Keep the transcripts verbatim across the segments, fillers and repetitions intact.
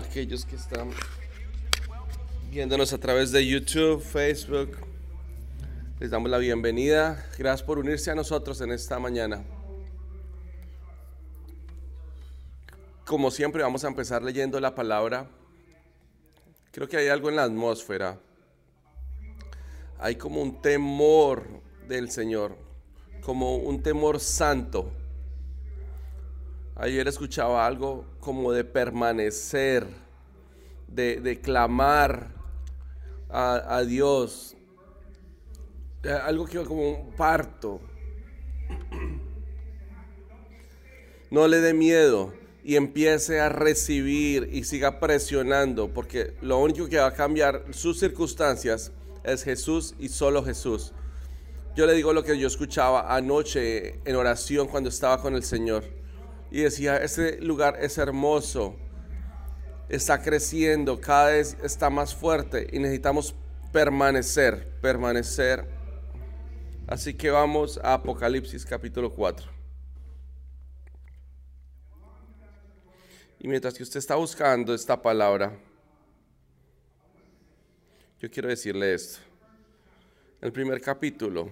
aquellos que están viéndonos a través de YouTube, Facebook. Les damos la bienvenida. Gracias por unirse a nosotros en esta mañana. Como siempre, vamos a empezar leyendo la palabra. Creo que hay algo en la atmósfera. Hay como un temor del Señor, como un temor santo. Ayer escuchaba algo como de permanecer, de, de clamar a, a Dios, algo que como un parto. No le dé miedo y empiece a recibir y siga presionando, porque lo único que va a cambiar sus circunstancias es Jesús y solo Jesús. Yo le digo lo que yo escuchaba anoche en oración cuando estaba con el Señor. Y decía, este lugar es hermoso, está creciendo, cada vez está más fuerte y necesitamos permanecer, permanecer. Así que vamos a Apocalipsis capítulo cuatro. Y mientras que usted está buscando esta palabra, yo quiero decirle esto. En el primer capítulo,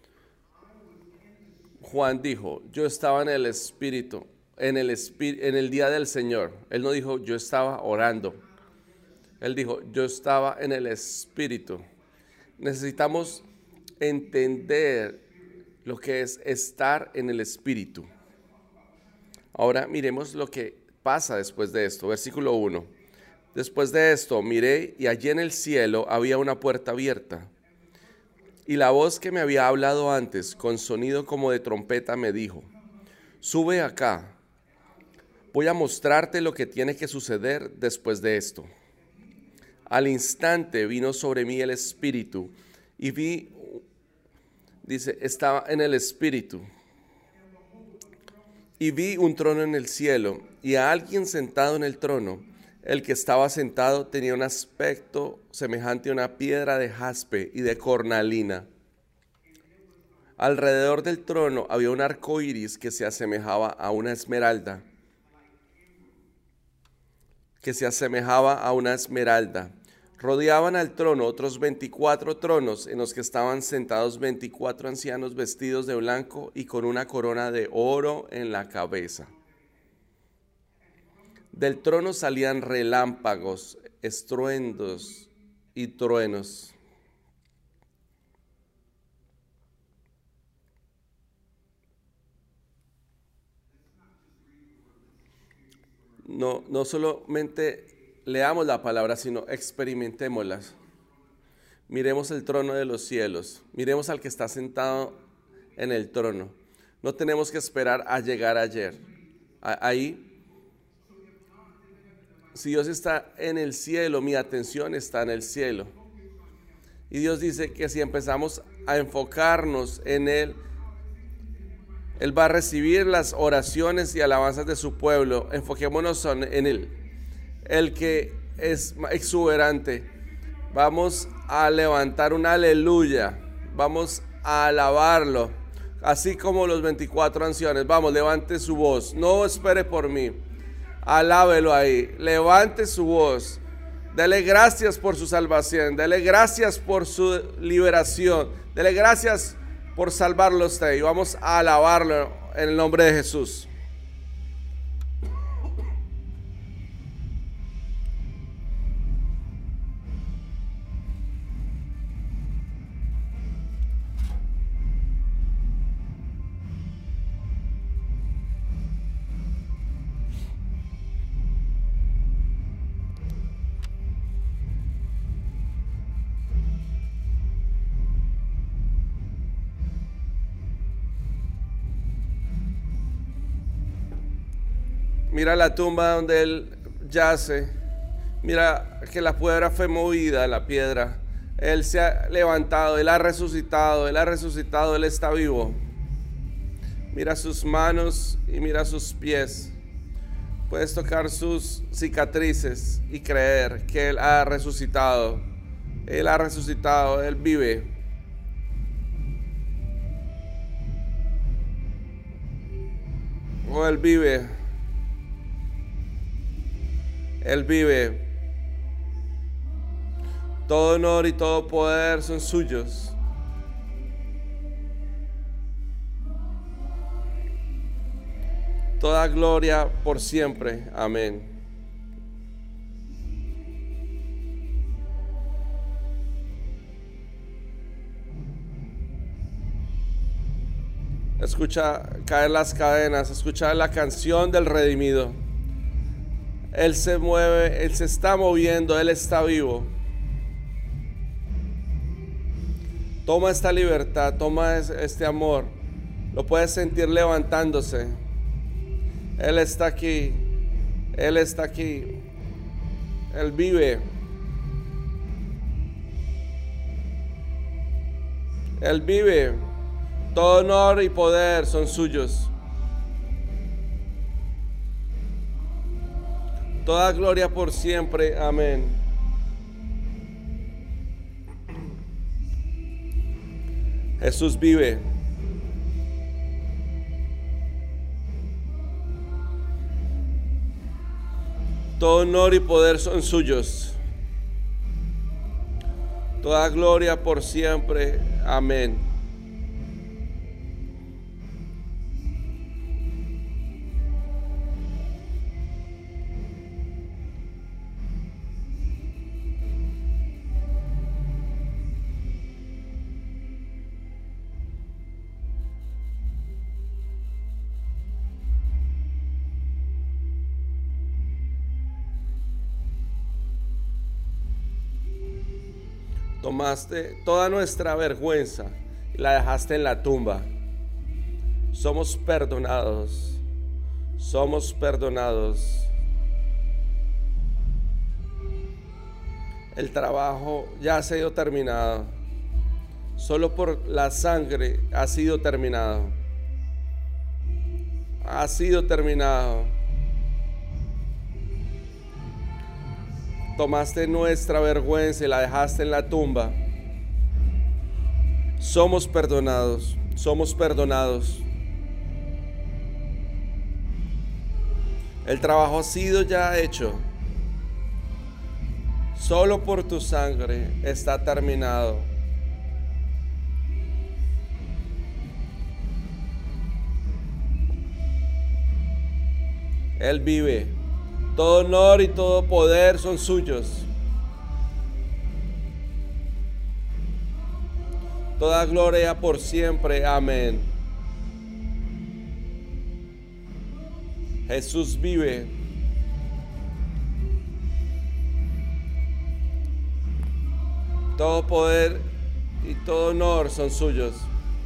Juan dijo, yo estaba en el Espíritu. En el, en el día del Señor. Él no dijo yo estaba orando. Él dijo yo estaba en el Espíritu. Necesitamos entender lo que es estar en el Espíritu. Ahora miremos lo que pasa después de esto. Versículo uno. Después de esto miré y allí en el cielo había una puerta abierta. Y la voz que me había hablado antes con sonido como de trompeta me dijo, sube acá. Voy a mostrarte lo que tiene que suceder después de esto. Al instante vino sobre mí el Espíritu y vi, dice, estaba en el Espíritu. Y vi un trono en el cielo y a alguien sentado en el trono. El que estaba sentado tenía un aspecto semejante a una piedra de jaspe y de cornalina. Alrededor del trono había un arco iris que se asemejaba a una esmeralda. que se asemejaba a una esmeralda. Rodeaban al trono otros veinticuatro tronos en los que estaban sentados veinticuatro ancianos vestidos de blanco y con una corona de oro en la cabeza. Del trono salían relámpagos, estruendos y truenos. No, no solamente leamos la palabra, sino experimentémosla. Miremos el trono de los cielos, miremos al que está sentado en el trono. No tenemos que esperar a llegar ayer. Ahí, si Dios está en el cielo, mi atención está en el cielo. Y Dios dice que si empezamos a enfocarnos en Él, Él va a recibir las oraciones y alabanzas de su pueblo. Enfoquémonos en Él, el que es exuberante. Vamos a levantar un aleluya, vamos a alabarlo, así como los veinticuatro ancianos. Vamos, levante su voz, no espere por mí, alábelo ahí, levante su voz, dele gracias por su salvación, dele gracias por su liberación, dele gracias por salvarlo a usted, y vamos a alabarlo en el nombre de Jesús. Mira la tumba donde él yace. Mira que la piedra fue movida, la piedra. Él se ha levantado, Él ha resucitado, Él ha resucitado, Él está vivo. Mira sus manos y mira sus pies. Puedes tocar sus cicatrices y creer que Él ha resucitado. Él ha resucitado, Él vive. Oh, Él vive. Él vive. Todo honor y todo poder son suyos. Toda gloria por siempre. Amén. Escucha caer las cadenas, escucha la canción del redimido. Él se mueve, Él se está moviendo, Él está vivo. Toma esta libertad, toma este amor. Lo puedes sentir levantándose. Él está aquí, Él está aquí. Él vive. Él vive. Todo honor y poder son suyos. Toda gloria por siempre. Amén. Jesús vive. Todo honor y poder son suyos. Toda gloria por siempre. Amén. Tomaste toda nuestra vergüenza y la dejaste en la tumba. Somos perdonados. Somos perdonados. El trabajo ya ha sido terminado. Solo por la sangre ha sido terminado. Ha sido terminado. Tomaste nuestra vergüenza y la dejaste en la tumba. Somos perdonados, somos perdonados. El trabajo ha sido ya hecho. Solo por tu sangre está terminado. Él vive. Todo honor y todo poder son suyos. Toda gloria por siempre. Amén. Jesús vive. Todo poder y todo honor son suyos.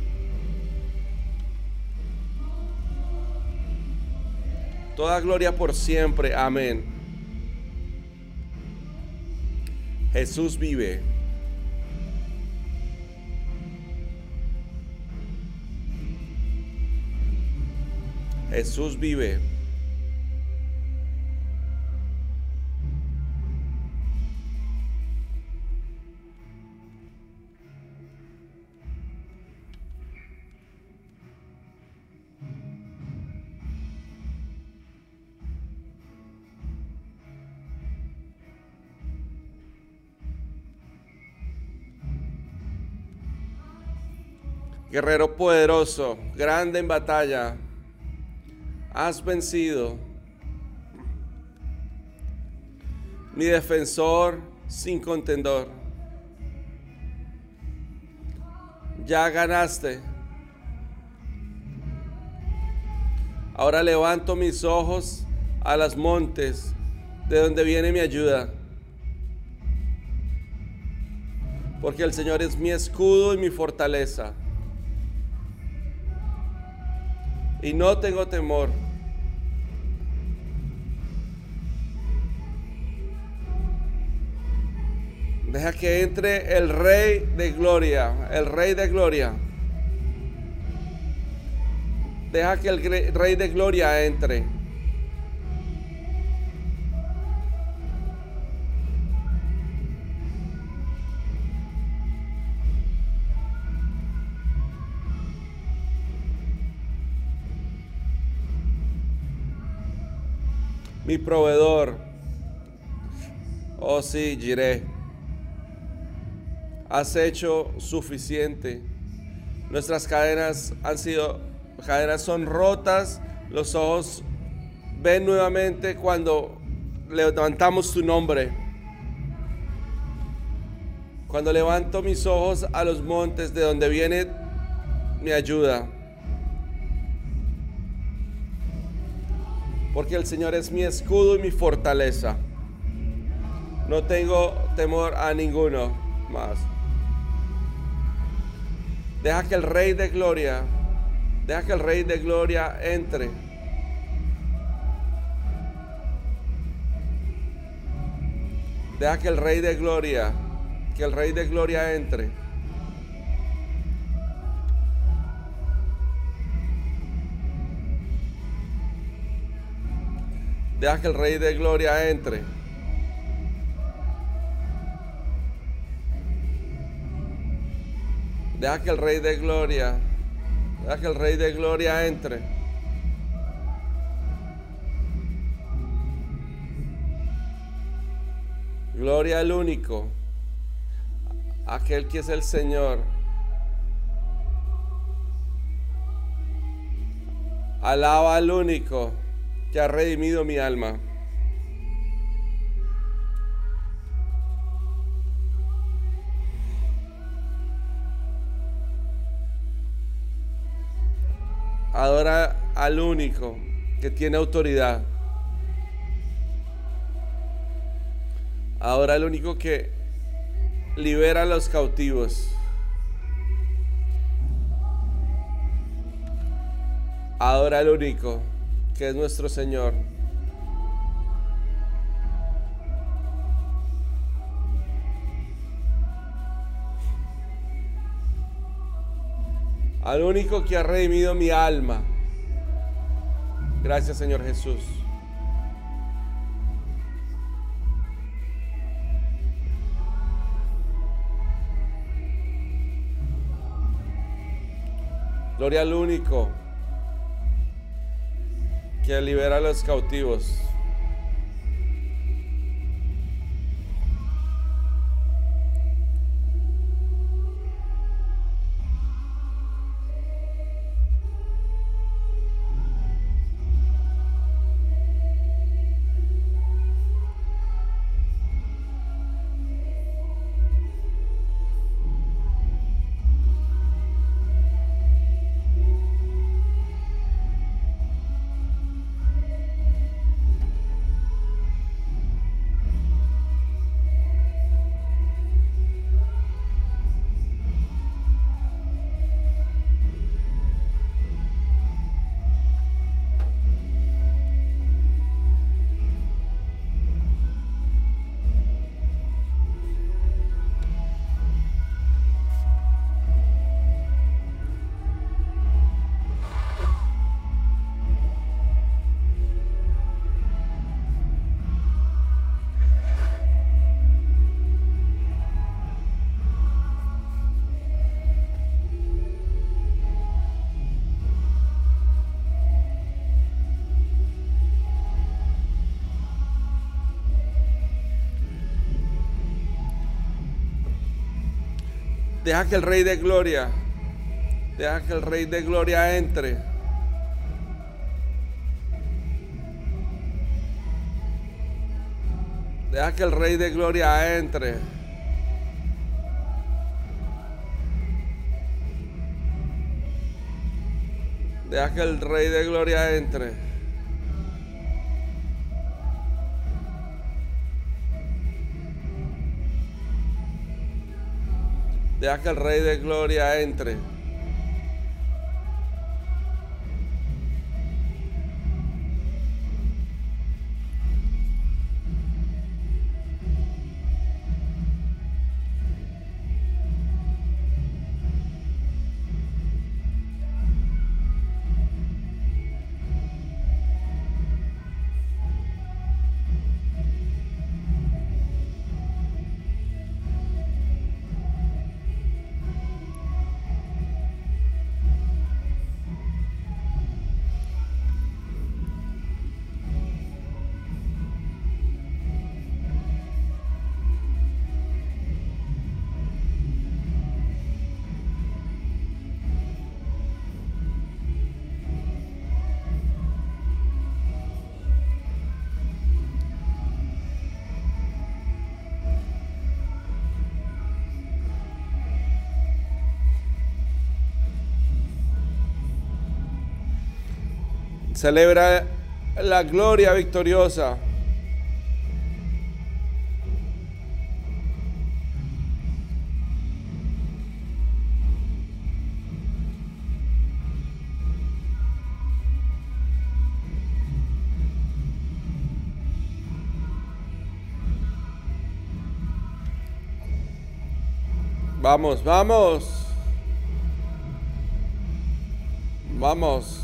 Toda gloria por siempre. Amén. Jesús vive. Jesús vive. Guerrero poderoso, grande en batalla, has vencido. Mi defensor sin contendor. Ya ganaste. Ahora levanto mis ojos a los montes, de donde viene mi ayuda. Porque el Señor es mi escudo y mi fortaleza. Y no tengo temor. Deja que entre el Rey de Gloria, el Rey de Gloria. Deja que el Rey de Gloria entre. Mi proveedor, Oh sí, Jireh, has hecho suficiente. Nuestras cadenas han sido, cadenas son rotas, los ojos ven nuevamente cuando levantamos tu nombre. Cuando levanto mis ojos a los montes de donde viene mi ayuda. Porque el Señor es mi escudo y mi fortaleza. No tengo temor a ninguno más. Deja que el Rey de Gloria, deja que el Rey de Gloria entre. Deja que el Rey de Gloria, que el Rey de Gloria entre. Deja que el Rey de Gloria entre. Deja que el Rey de Gloria, deja que el Rey de Gloria entre. Gloria al único, aquel que es el Señor. Alaba al único que ha redimido mi alma. Adora al único que tiene autoridad. Adora al único que libera a los cautivos. Adora al único que es nuestro Señor. Al único que ha redimido mi alma. Gracias, Señor Jesús. Gloria al único que libera a los cautivos. Deja que el Rey de Gloria, deja que el Rey de Gloria entre. Deja que el Rey de Gloria entre. Deja que el Rey de Gloria entre. Deja que el Rey de Gloria entre. Celebra la gloria victoriosa. Vamos, vamos. Vamos.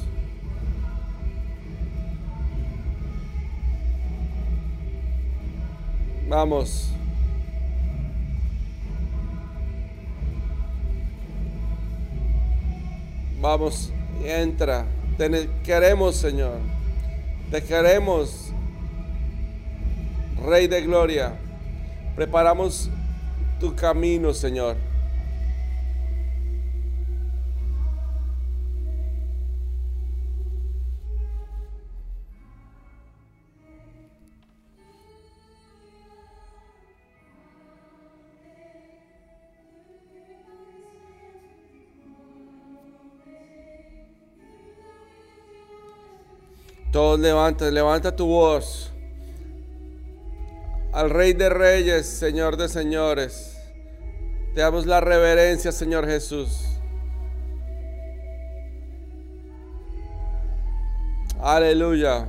Vamos. Vamos, entra. Te queremos, Señor. Te queremos, Rey de Gloria. Preparamos tu camino, Señor. Todos levanta, levanta tu voz al Rey de Reyes, Señor de Señores. Te damos la reverencia, Señor Jesús. Aleluya.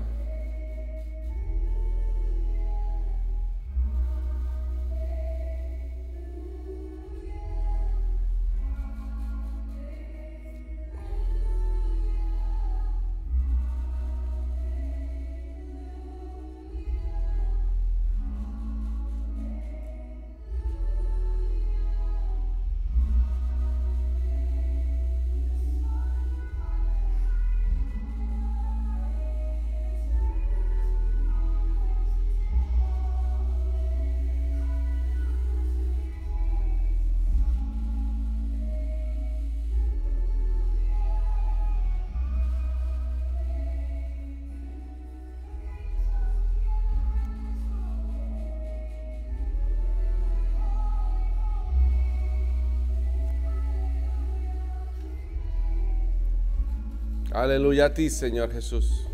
Aleluya a ti, Señor Jesús.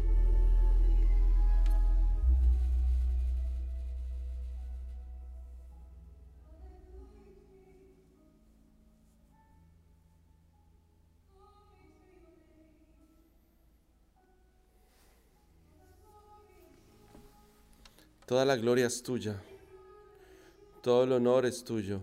Toda la gloria es tuya. Todo el honor es tuyo.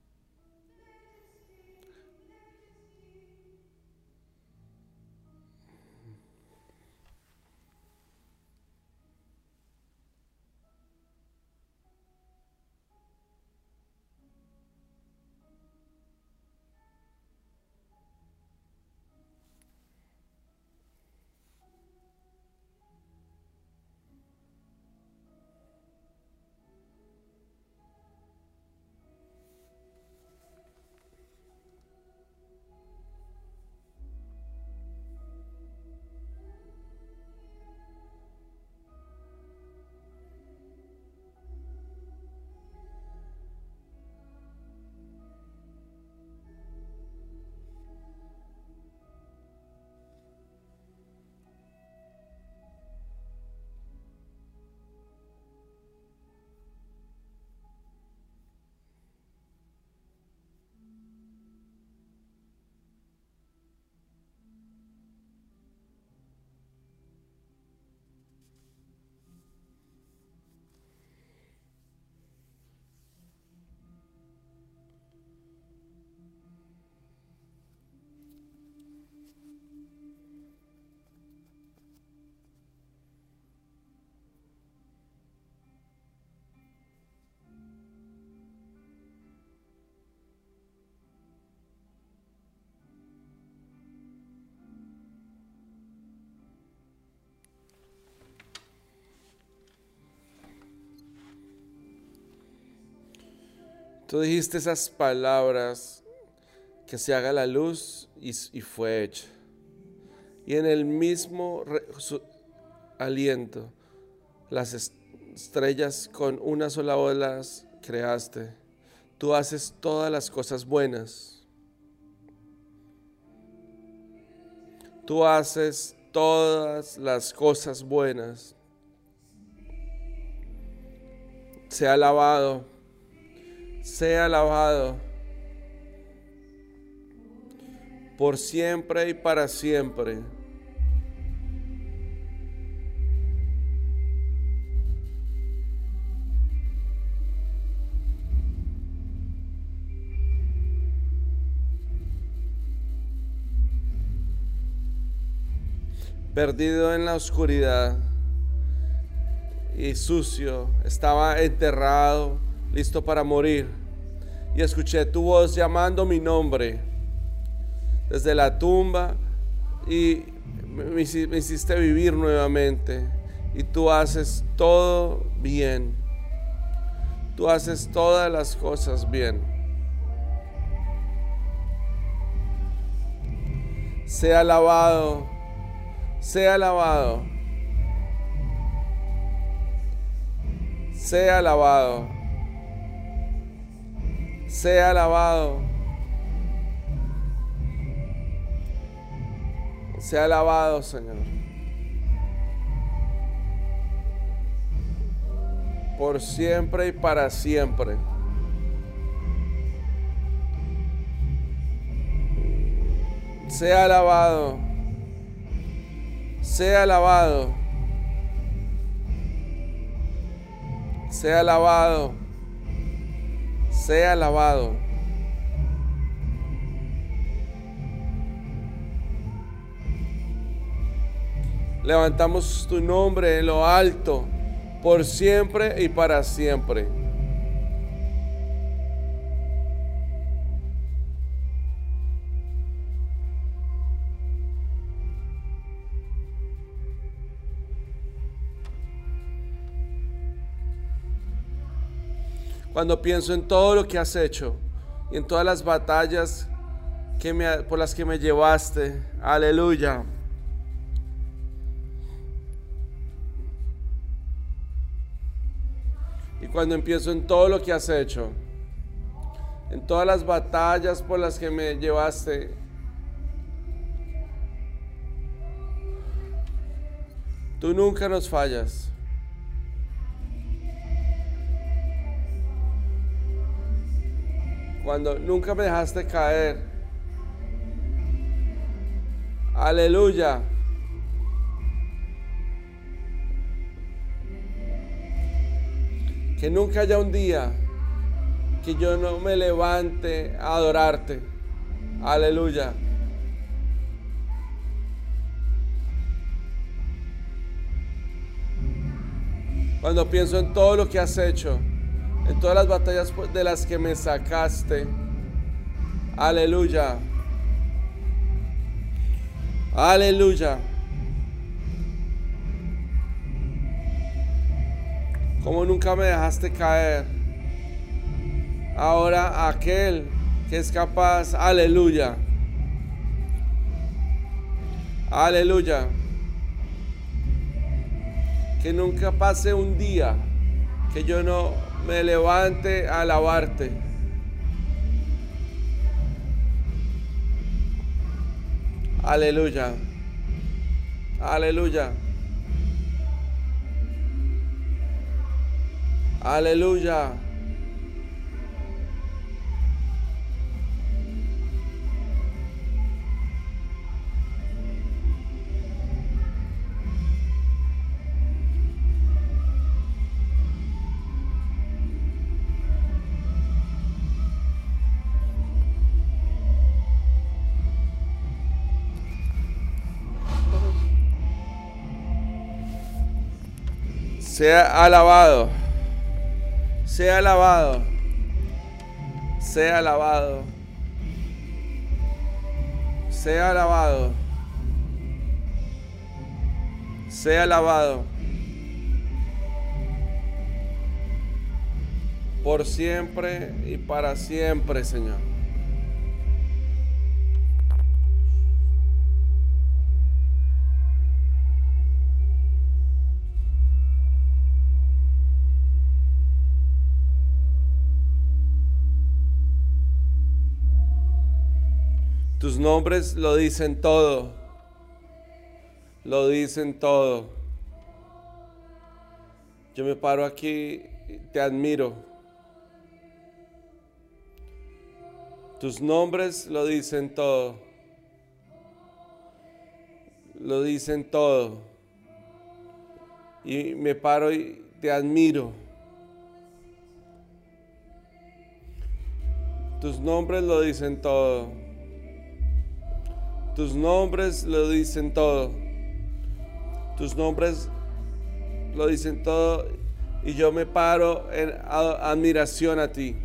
Tú dijiste esas palabras, que se haga la luz, y, y fue hecha. Y en el mismo re, su, aliento, las estrellas con una sola voz las creaste. Tú haces todas las cosas buenas. Tú haces todas las cosas buenas. Sea alabado, sea alabado, por siempre y para siempre. Perdido en la oscuridad y sucio, estaba enterrado, listo para morir, y escuché tu voz llamando mi nombre desde la tumba, y me hiciste vivir nuevamente. Y tú haces todo bien, tú haces todas las cosas bien. Sea alabado, sea alabado, sea alabado, sea alabado, sea alabado, Señor, por siempre y para siempre. Sea alabado, sea alabado, sea alabado, sea alabado. Levantamos tu nombre en lo alto, por siempre y para siempre. Cuando pienso en todo lo que has hecho y en todas las batallas que me, por las que me llevaste, aleluya. Y cuando empiezo en todo lo que has hecho, en todas las batallas por las que me llevaste, tú nunca nos fallas. Cuando nunca me dejaste caer, aleluya. Que nunca haya un día que yo no me levante a adorarte, aleluya. Cuando pienso en todo lo que has hecho, en todas las batallas de las que me sacaste, aleluya, aleluya. Como nunca me dejaste caer, ahora aquel que es capaz, aleluya, aleluya. Que nunca pase un día que yo no me levante a alabarte. Aleluya. Aleluya. Aleluya. Sea alabado, sea alabado, sea alabado, sea alabado, sea alabado, por siempre y para siempre, Señor. Tus nombres lo dicen todo. lo dicen todo. Yo me paro aquí y te admiro. Tus nombres lo dicen todo. Lo dicen todo. Y me paro y te admiro. Tus nombres lo dicen todo. Tus nombres lo dicen todo. Tus nombres lo dicen todo. Y yo me paro en admiración a ti.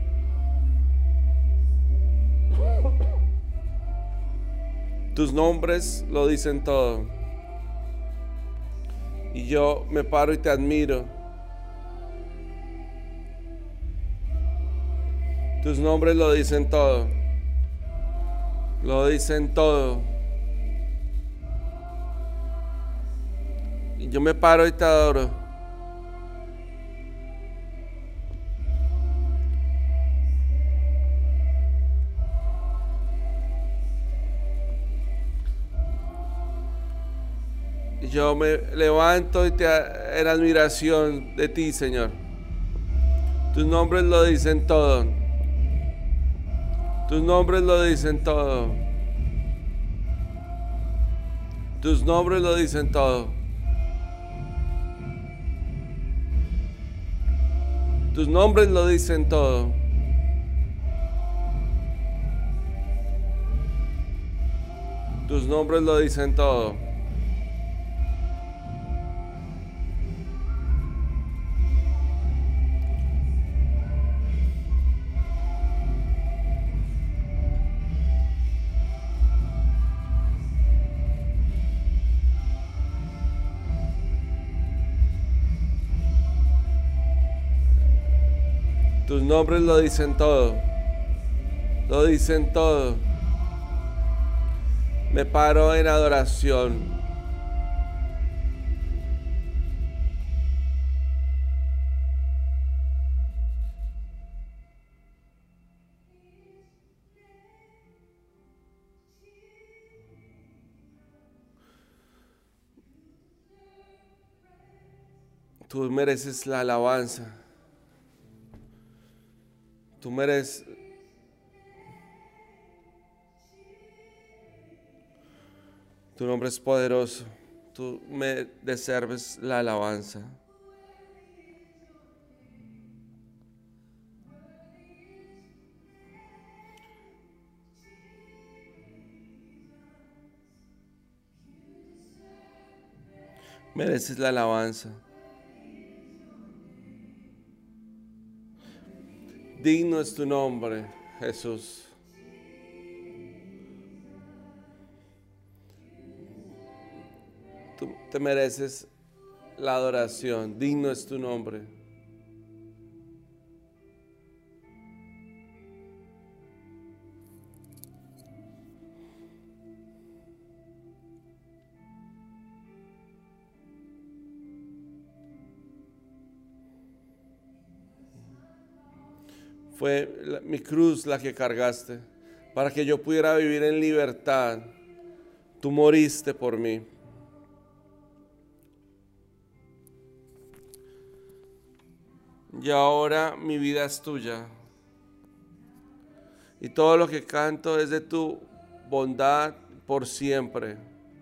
Tus nombres lo dicen todo. Y yo me paro y te admiro. Tus nombres lo dicen todo. Lo dicen todo. Y yo me paro y te adoro. Y yo me levanto y te en admiración de ti, Señor. Tus nombres lo dicen todo. Tus nombres lo dicen todo. Tus nombres lo dicen todo. Tus nombres lo dicen todo. Tus nombres lo dicen todo. Tus nombres lo dicen todo. Lo dicen todo. Me paro en adoración. Tú mereces la alabanza. Tú mereces. Tu nombre es poderoso. Tú me deserves la alabanza. Mereces la alabanza. Digno es tu nombre, Jesús. Tú te mereces la adoración. Digno es tu nombre. Fue la, mi cruz la que cargaste para que yo pudiera vivir en libertad. Tú moriste por mí. Y ahora mi vida es tuya. Y todo lo que canto es de tu bondad por siempre.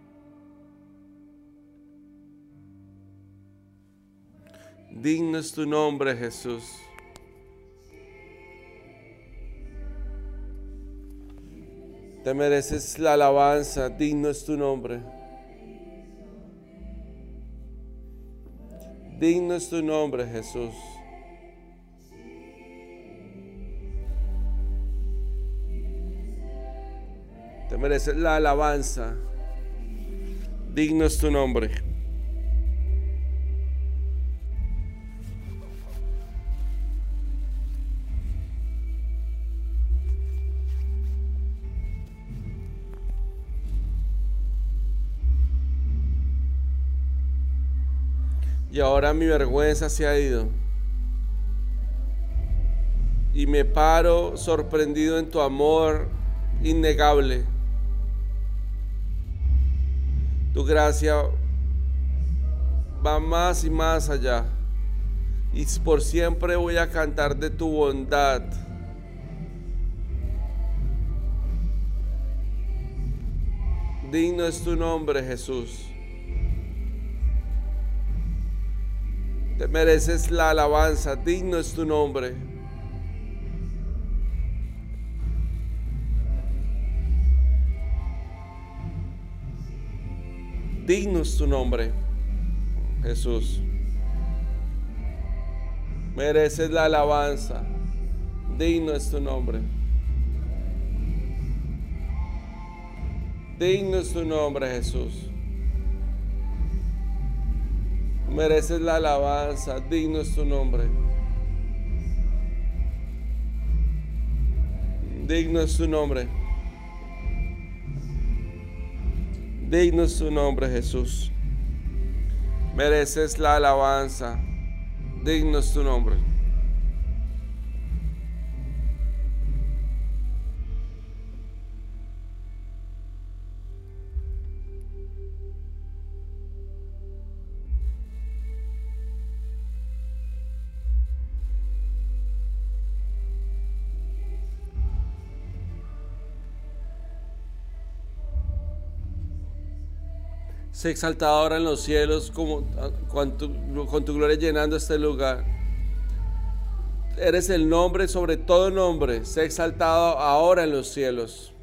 Digno es tu nombre, Jesús. Te mereces la alabanza, digno es tu nombre. Digno es tu nombre, Jesús. Te mereces la alabanza, digno es tu nombre. Y ahora mi vergüenza se ha ido. Y me paro sorprendido en tu amor innegable. Tu gracia va más y más allá. Y por siempre voy a cantar de tu bondad. Digno es tu nombre, Jesús. Te mereces la alabanza. Digno es tu nombre. Digno es tu nombre, Jesús. Mereces la alabanza. Digno es tu nombre. Digno es tu nombre, Jesús. Mereces la alabanza. Digno es tu nombre. Digno es tu nombre. Digno es tu nombre, Jesús. Mereces la alabanza. Digno es tu nombre. Sé exaltado ahora en los cielos como, con, tu, con tu gloria llenando este lugar. Eres el nombre sobre todo nombre. Sé exaltado ahora en los cielos.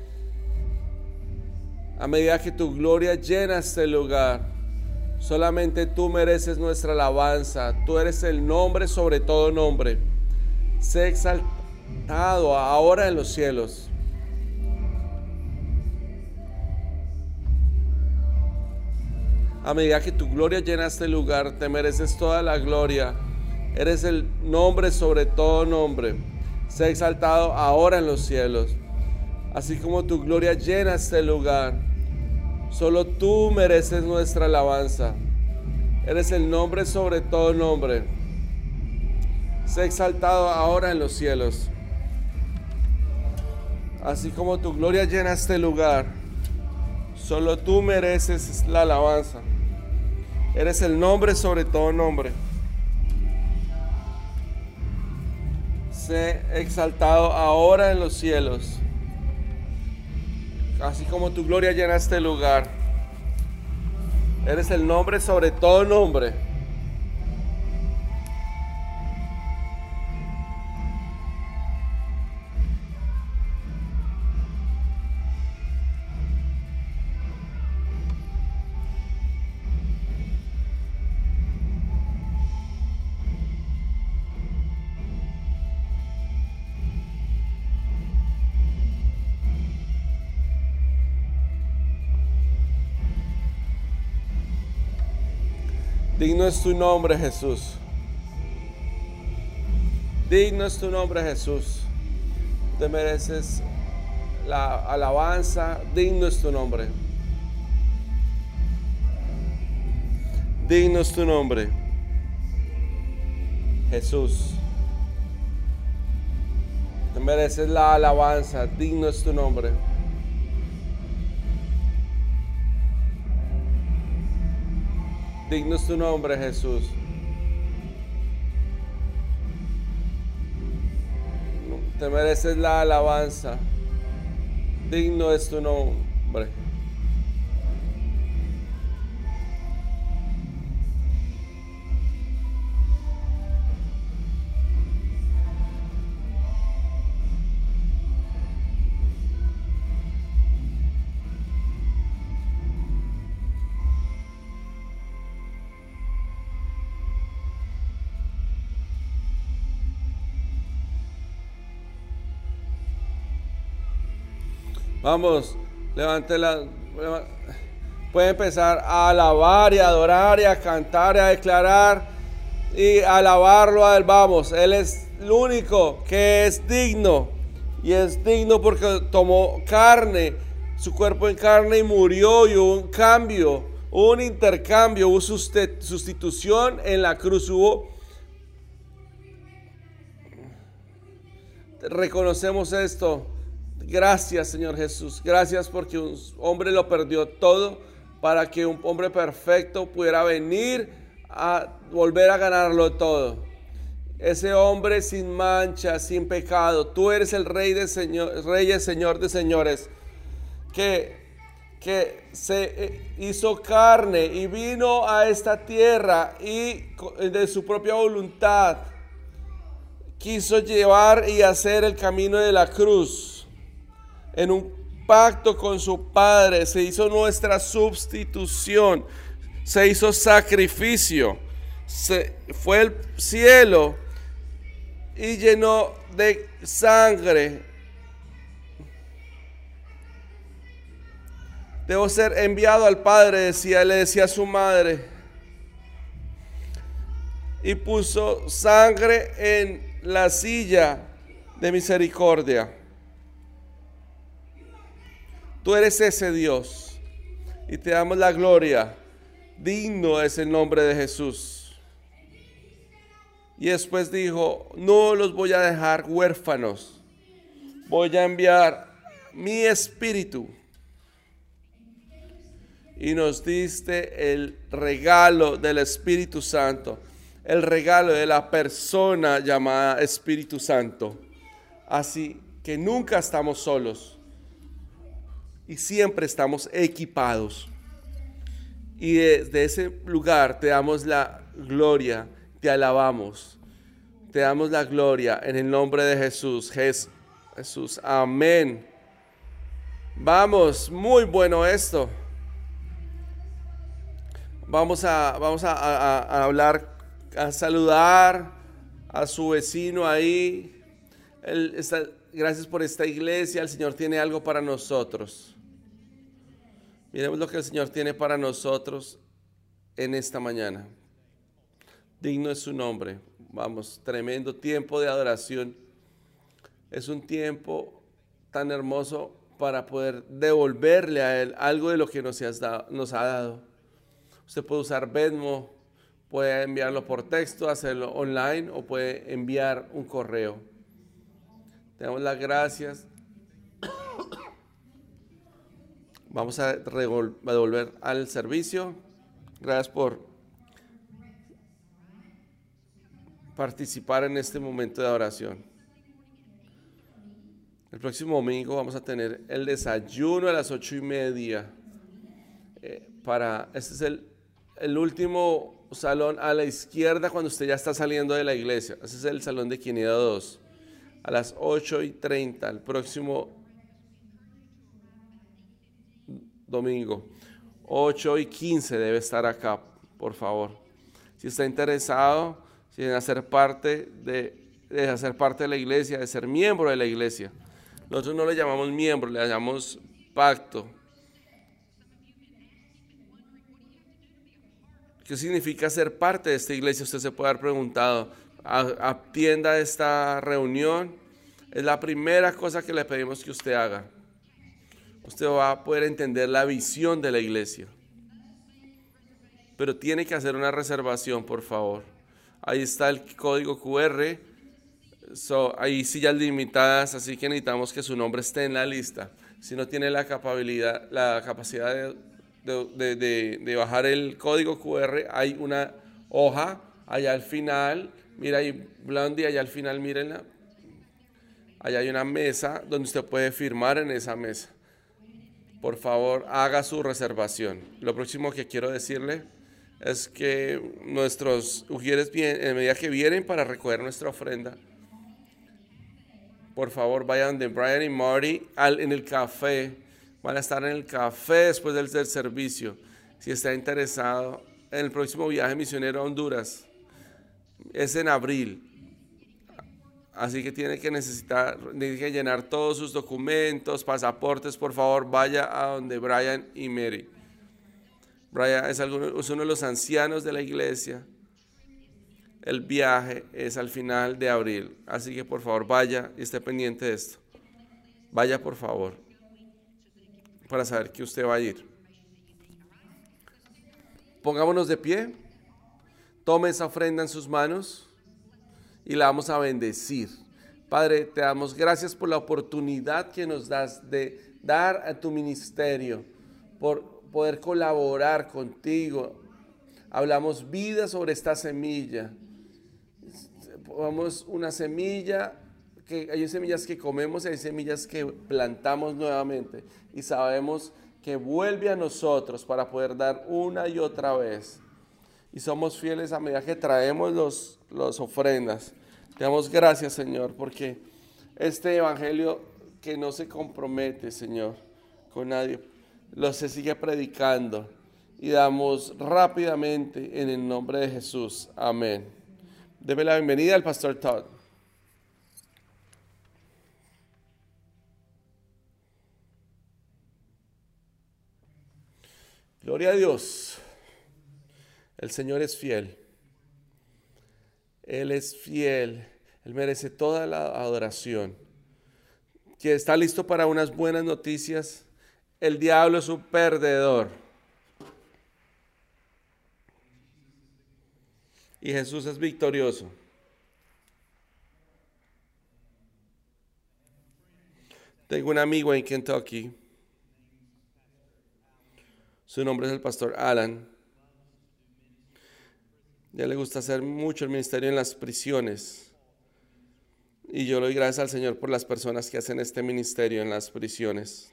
A medida que tu gloria llena este lugar, solamente tú mereces nuestra alabanza. Tú eres el nombre sobre todo nombre. Sé exaltado ahora en los cielos. A medida que tu gloria llena este lugar, te mereces toda la gloria. Eres el nombre sobre todo nombre. Sé exaltado ahora en los cielos. Así como tu gloria llena este lugar, solo tú mereces nuestra alabanza. Eres el nombre sobre todo nombre. Sé exaltado ahora en los cielos. Así como tu gloria llena este lugar, solo tú mereces la alabanza. Eres el nombre sobre todo nombre. Sé exaltado ahora en los cielos. Así como tu gloria llena este lugar. Eres el nombre sobre todo nombre. Digno es tu nombre, Jesús. Digno es tu nombre, Jesús. Te mereces la alabanza. Digno es tu nombre. Digno es tu nombre, Jesús. Te mereces la alabanza. Digno es tu nombre. Digno es tu nombre, Jesús. Te mereces la alabanza. Digno es tu nombre. Vamos, levante la... Puede empezar a alabar y a adorar y a cantar y a declarar y a alabarlo a Él. Vamos, Él es el único que es digno. Y es digno porque tomó carne, su cuerpo en carne y murió, y hubo un cambio, hubo un intercambio, hubo sustitución en la cruz, hubo... Reconocemos esto. Gracias, Señor Jesús. Gracias porque un hombre lo perdió todo para que un hombre perfecto pudiera venir a volver a ganarlo todo. Ese hombre sin mancha, sin pecado. Tú eres el Rey de señor, Reyes, Señor de señores, que, que se hizo carne y vino a esta tierra y de su propia voluntad quiso llevar y hacer el camino de la cruz. En un pacto con su Padre se hizo nuestra sustitución, se hizo sacrificio, se fue al cielo y llenó de sangre. Debo ser enviado al Padre, decía, le decía a su madre, y puso sangre en la silla de misericordia. Tú eres ese Dios y te damos la gloria. Digno es el nombre de Jesús. Y después dijo, no los voy a dejar huérfanos. Voy a enviar mi espíritu. Y nos diste el regalo del Espíritu Santo. El regalo de la persona llamada Espíritu Santo. Así que nunca estamos solos. Y siempre estamos equipados. Y desde ese lugar te damos la gloria, te alabamos. Te damos la gloria en el nombre de Jesús. Jesús, amén. Vamos, muy bueno esto. Vamos a, vamos a, a, a hablar, a saludar a su vecino ahí. Él está, gracias por esta iglesia. El Señor tiene algo para nosotros. Miremos lo que el Señor tiene para nosotros en esta mañana. Digno es su nombre. Vamos, tremendo tiempo de adoración. Es un tiempo tan hermoso para poder devolverle a Él algo de lo que nos, has dado, nos ha dado. Usted puede usar Venmo, puede enviarlo por texto, hacerlo online o puede enviar un correo. Te damos las gracias. Vamos a devolver al servicio. Gracias por participar en este momento de oración. El próximo domingo vamos a tener el desayuno a las ocho y media. Eh, para, este es el, el último salón a la izquierda cuando usted ya está saliendo de la iglesia. Ese es el salón de quinientos dos. A las ocho y treinta, el próximo domingo. ocho y quince debe estar acá, por favor. Si está interesado en hacer parte de, de hacer parte de la iglesia, de ser miembro de la iglesia. Nosotros no le llamamos miembro, le llamamos pacto. ¿Qué significa ser parte de esta iglesia? Usted se puede haber preguntado. Atienda esta reunión. Es la primera cosa que le pedimos que usted haga. Usted va a poder entender la visión de la iglesia. Pero tiene que hacer una reservación, por favor. Ahí está el código cu erre. So, hay sillas limitadas, así que necesitamos que su nombre esté en la lista. Si no tiene la capacidad, la capacidad de, de, de, de, de bajar el código cu erre, hay una hoja allá al final. Mira ahí, Blondie, allá al final, mírenla. Allá hay una mesa donde usted puede firmar en esa mesa. Por favor, haga su reservación. Lo próximo que quiero decirle es que nuestros ujieres, en medida que vienen para recoger nuestra ofrenda, por favor vayan de Brian y Marty al, en el café. Van a estar en el café después del, del servicio. Si está interesado en el próximo viaje misionero a Honduras, es en abril. Así que tiene que necesitar, tiene que llenar todos sus documentos, pasaportes. Por favor, vaya a donde Brian y Mary. Brian es, alguno, es uno de los ancianos de la iglesia. El viaje es al final de abril. Así que por favor vaya y esté pendiente de esto. Vaya por favor, para saber que usted va a ir. Pongámonos de pie. Tome esa ofrenda en sus manos y la vamos a bendecir. Padre, te damos gracias por la oportunidad que nos das de dar a tu ministerio, por poder colaborar contigo. Hablamos vida sobre esta semilla. Vamos una semilla, que hay semillas que comemos y hay semillas que plantamos nuevamente. Y sabemos que vuelve a nosotros para poder dar una y otra vez. Y somos fieles a medida que traemos los, los ofrendas. Te damos gracias, Señor, porque este evangelio que no se compromete, Señor, con nadie, lo se sigue predicando. Y damos rápidamente en el nombre de Jesús. Amén. Deme la bienvenida al pastor Todd. Gloria a Dios. El Señor es fiel. Él es fiel. Él merece toda la adoración. ¿Quién está listo para unas buenas noticias? El diablo es un perdedor. Y Jesús es victorioso. Tengo un amigo en Kentucky. Su nombre es el pastor Alan. Ya le gusta hacer mucho el ministerio en las prisiones. Y yo le doy gracias al Señor por las personas que hacen este ministerio en las prisiones.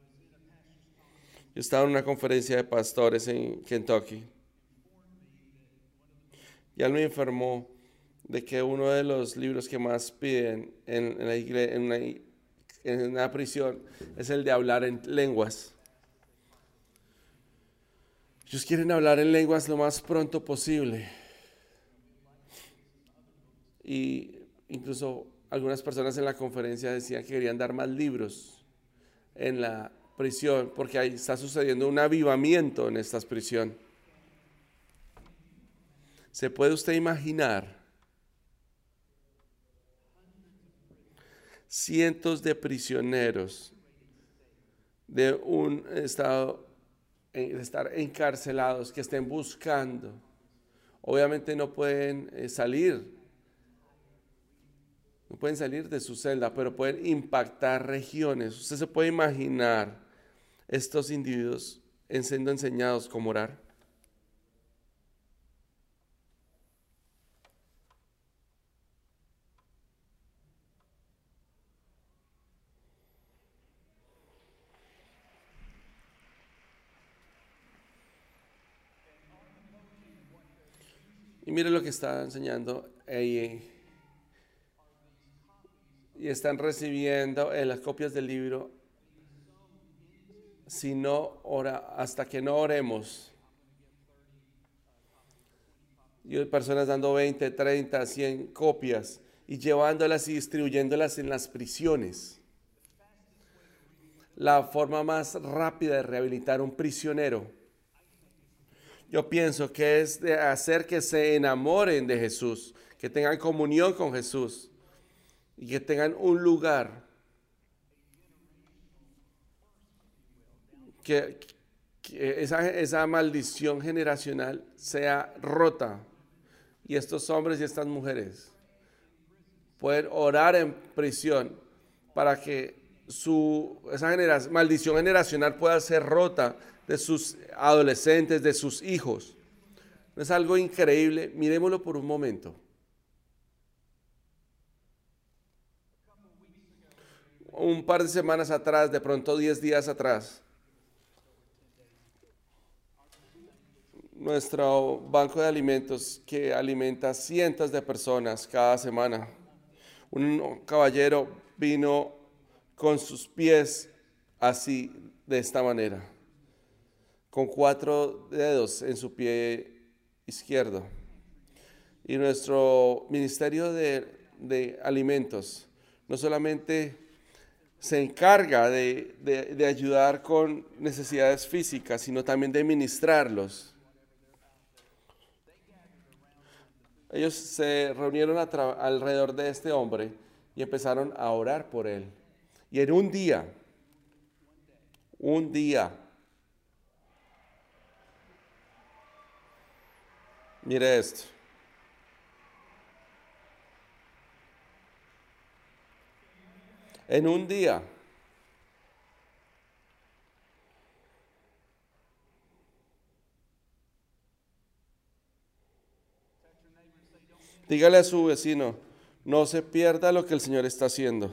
Yo estaba en una conferencia de pastores en Kentucky. Y él me informó de que uno de los libros que más piden en, en, la iglesia, en, una, en una prisión es el de hablar en lenguas. Ellos quieren hablar en lenguas lo más pronto posible. Y incluso algunas personas en la conferencia decían que querían dar más libros en la prisión porque ahí está sucediendo un avivamiento en esta prisión. ¿Se puede usted imaginar cientos de prisioneros de un estado de estar encarcelados que estén buscando? Obviamente no pueden eh, salir, no pueden salir de su celda, pero pueden impactar regiones. Usted se puede imaginar estos individuos siendo enseñados cómo orar. Y mire lo que está enseñando ahí. Y están recibiendo en las copias del libro, si no ora, hasta que no oremos. Y hay personas dando veinte, treinta, cien copias y llevándolas y distribuyéndolas en las prisiones. La forma más rápida de rehabilitar a un prisionero, yo pienso que es de hacer que se enamoren de Jesús, que tengan comunión con Jesús y que tengan un lugar que, que esa, esa maldición generacional sea rota y estos hombres y estas mujeres pueden orar en prisión para que su, esa genera, maldición generacional pueda ser rota de sus adolescentes, de sus hijos. ¿No es algo increíble? Miremoslo por un momento. Un par de semanas atrás, de pronto diez días atrás, nuestro banco de alimentos que alimenta cientos de personas cada semana, un caballero vino con sus pies así, de esta manera, con cuatro dedos en su pie izquierdo. Y nuestro ministerio de, de alimentos no solamente se encarga de, de, de ayudar con necesidades físicas, sino también de ministrarlos. Ellos se reunieron a tra- alrededor de este hombre y empezaron a orar por él. Y en un día, un día, mire esto. En un día, Dígale a su vecino, no se pierda lo que el Señor está haciendo.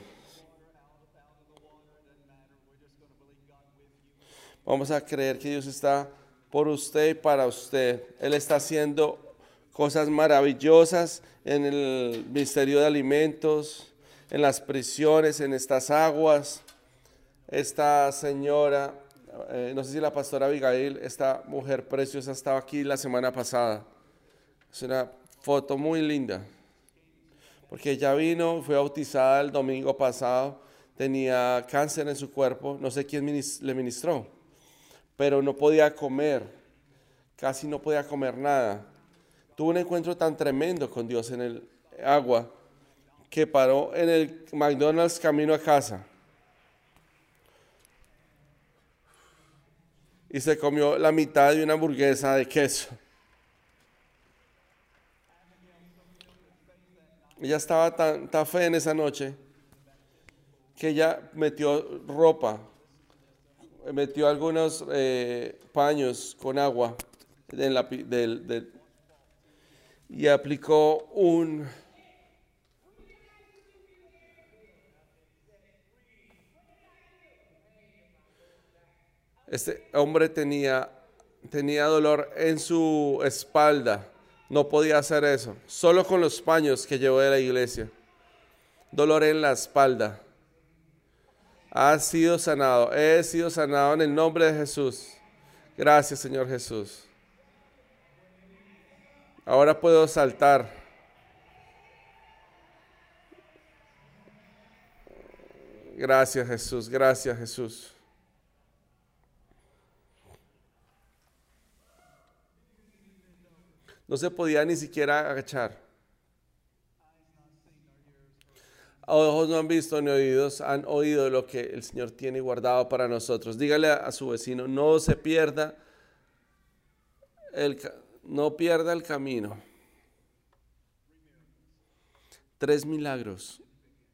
Vamos a creer que Dios está por usted y para usted. Él está haciendo cosas maravillosas en el ministerio de alimentos, en las prisiones, en estas aguas. Esta señora, eh, no sé si la pastora Abigail, esta mujer preciosa estaba aquí la semana pasada. Es una foto muy linda, porque ella vino, fue bautizada el domingo pasado, tenía cáncer en su cuerpo, no sé quién minis- le ministró, pero no podía comer, casi no podía comer nada. Tuvo un encuentro tan tremendo con Dios en el agua que paró en el McDonald's camino a casa y se comió la mitad de una hamburguesa de queso. Ella estaba tan, tan fe en esa noche que ella metió ropa, metió algunos eh, paños con agua en la, pi- del, del- y aplicó un... Este hombre tenía, tenía dolor en su espalda, no podía hacer eso, solo con los paños que llevó de la iglesia. Dolor en la espalda. Ha sido sanado, he sido sanado en el nombre de Jesús. Gracias, Señor Jesús. Ahora puedo saltar. Gracias, Jesús. Gracias, Jesús. No se podía ni siquiera agachar. Ojos no han visto ni oídos han oído lo que el Señor tiene guardado para nosotros. Dígale a, a su vecino, no se pierda el, no pierda el camino. Tres milagros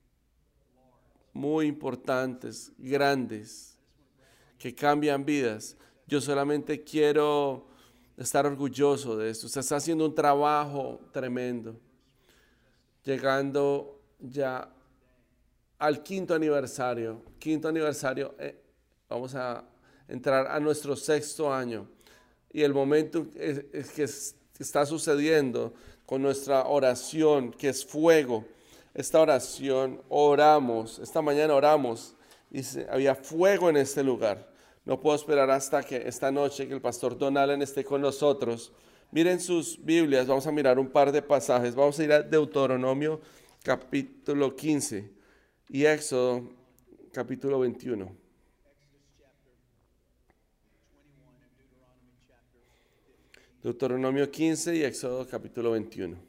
muy importantes, grandes, que cambian vidas. Yo solamente quiero estar orgulloso de esto. Usted está haciendo un trabajo tremendo, llegando ya al quinto aniversario. Quinto aniversario, eh, vamos a entrar a nuestro sexto año. Y el momento es, es que es, está sucediendo con nuestra oración, que es fuego. Esta oración, oramos, esta mañana oramos y se, había fuego en este lugar. No puedo esperar hasta que esta noche que el pastor Don Allen esté con nosotros. Miren sus Biblias, vamos a mirar un par de pasajes. Vamos a ir a Deuteronomio capítulo quince y Éxodo capítulo veintiuno. Deuteronomio quince y Éxodo capítulo veintiuno.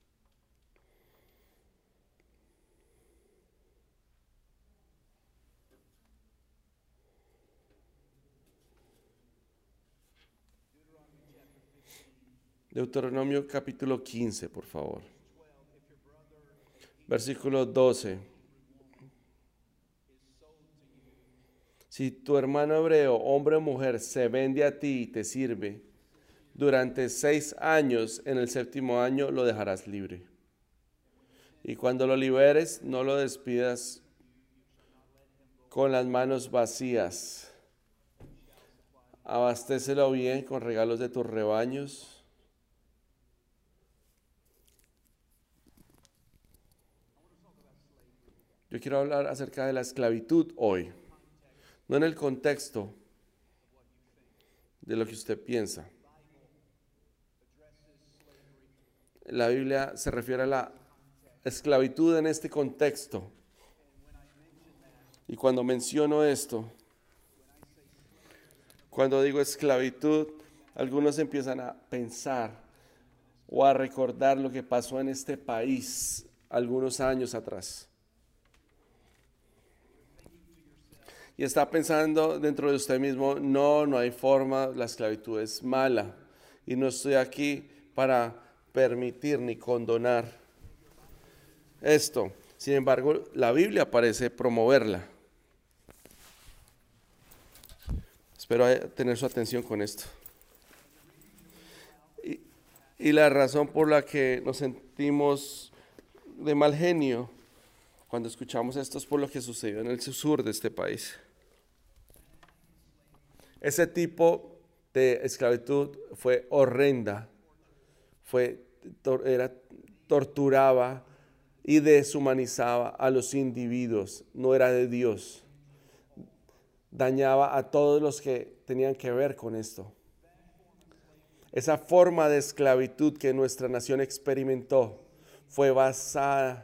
Deuteronomio capítulo quince, por favor. Versículo doce. Si tu hermano hebreo, hombre o mujer, se vende a ti y te sirve durante seis años, en el séptimo año lo dejarás libre. Y cuando lo liberes, no lo despidas con las manos vacías. Abastécelo bien con regalos de tus rebaños. Yo quiero hablar acerca de la esclavitud hoy, no en el contexto de lo que usted piensa. La Biblia se refiere a la esclavitud en este contexto. Y cuando menciono esto, cuando digo esclavitud, algunos empiezan a pensar o a recordar lo que pasó en este país algunos años atrás. Y está pensando dentro de usted mismo, no, no hay forma, la esclavitud es mala. Y no estoy aquí para permitir ni condonar esto. Sin embargo, la Biblia parece promoverla. Espero tener su atención con esto. Y, Y la razón por la que nos sentimos de mal genio cuando escuchamos esto es por lo que sucedió en el sur de este país. Ese tipo de esclavitud fue horrenda, fue, era, torturaba y deshumanizaba a los individuos, no era de Dios. Dañaba a todos los que tenían que ver con esto. Esa forma de esclavitud que nuestra nación experimentó fue basada,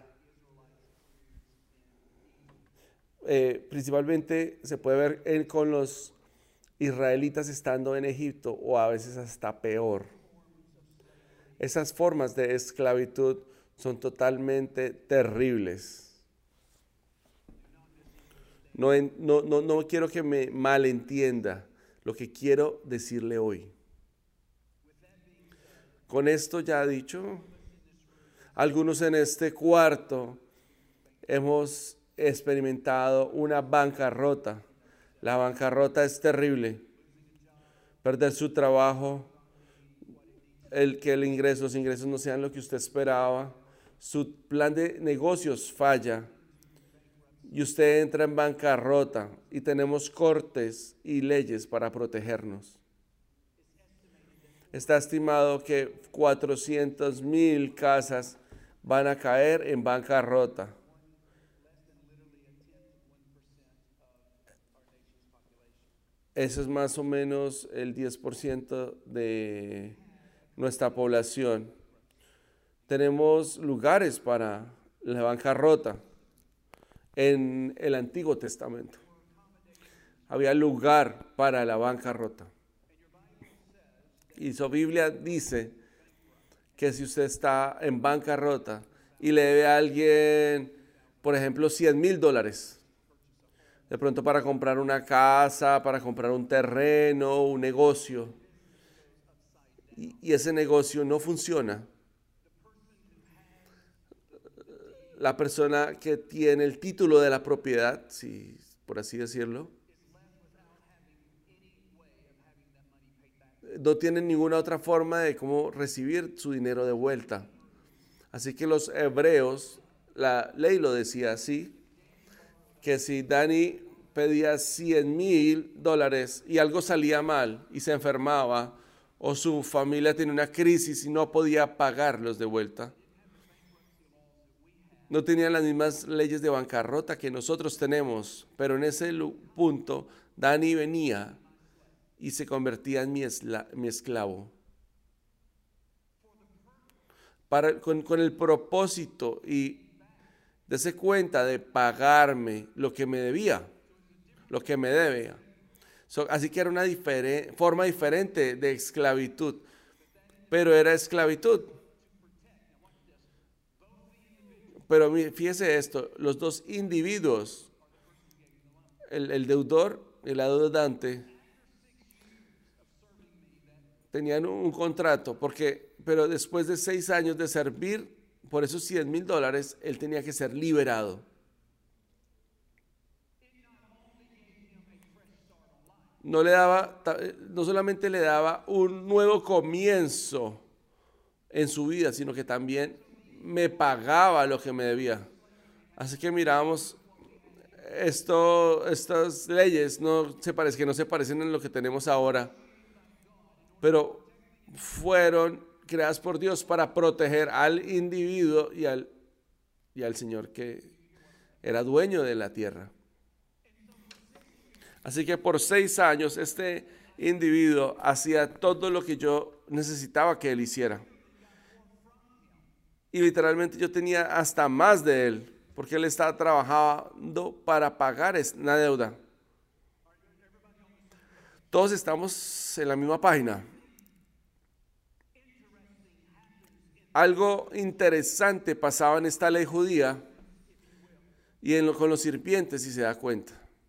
eh, principalmente se puede ver en, con los israelitas estando en Egipto, o a veces hasta peor. Esas formas de esclavitud son totalmente terribles. No, no, no, no quiero que me malentienda lo que quiero decirle hoy. Con esto ya dicho, algunos en este cuarto hemos experimentado una bancarrota. La bancarrota es terrible. Perder su trabajo, el que el ingreso, los ingresos no sean lo que usted esperaba, su plan de negocios falla y usted entra en bancarrota, y tenemos cortes y leyes para protegernos. Está estimado que cuatrocientas mil casas van a caer en bancarrota. Eso es más o menos el diez por ciento de nuestra población. Tenemos lugares para la bancarrota. En el Antiguo Testamento había lugar para la bancarrota. Y su Biblia dice que si usted está en bancarrota y le debe a alguien, por ejemplo, cien mil dólares, de pronto para comprar una casa, para comprar un terreno, un negocio, y, y ese negocio no funciona, la persona que tiene el título de la propiedad, si, por así decirlo, no tiene ninguna otra forma de cómo recibir su dinero de vuelta. Así que los hebreos, la ley lo decía así, que si Dani pedía cien mil dólares y algo salía mal y se enfermaba, o su familia tenía una crisis y no podía pagarlos de vuelta, no tenían las mismas leyes de bancarrota que nosotros tenemos, pero en ese punto Dani venía y se convertía en mi, esla, mi esclavo. Para, con, con el propósito y darse cuenta de pagarme lo que me debía, lo que me debía. So, así que era una difere, forma diferente de esclavitud, pero era esclavitud. Pero fíjese esto, los dos individuos, el, el deudor y el adeudante, tenían un, un contrato, porque, pero después de seis años de servir por esos cien mil dólares, él tenía que ser liberado. No le daba, no solamente le daba un nuevo comienzo en su vida, sino que también me pagaba lo que me debía. Así que miramos, esto, estas leyes no se parecen, que no se parecen en lo que tenemos ahora, pero fueron creadas por Dios para proteger al individuo y al, y al Señor que era dueño de la tierra. Así que por seis años este individuo hacía todo lo que yo necesitaba que él hiciera. Y literalmente yo tenía hasta más de él, porque él estaba trabajando para pagar una deuda. Todos estamos en la misma página. Algo interesante pasaba en esta ley judía y en lo, con los sirvientes, si se da cuenta.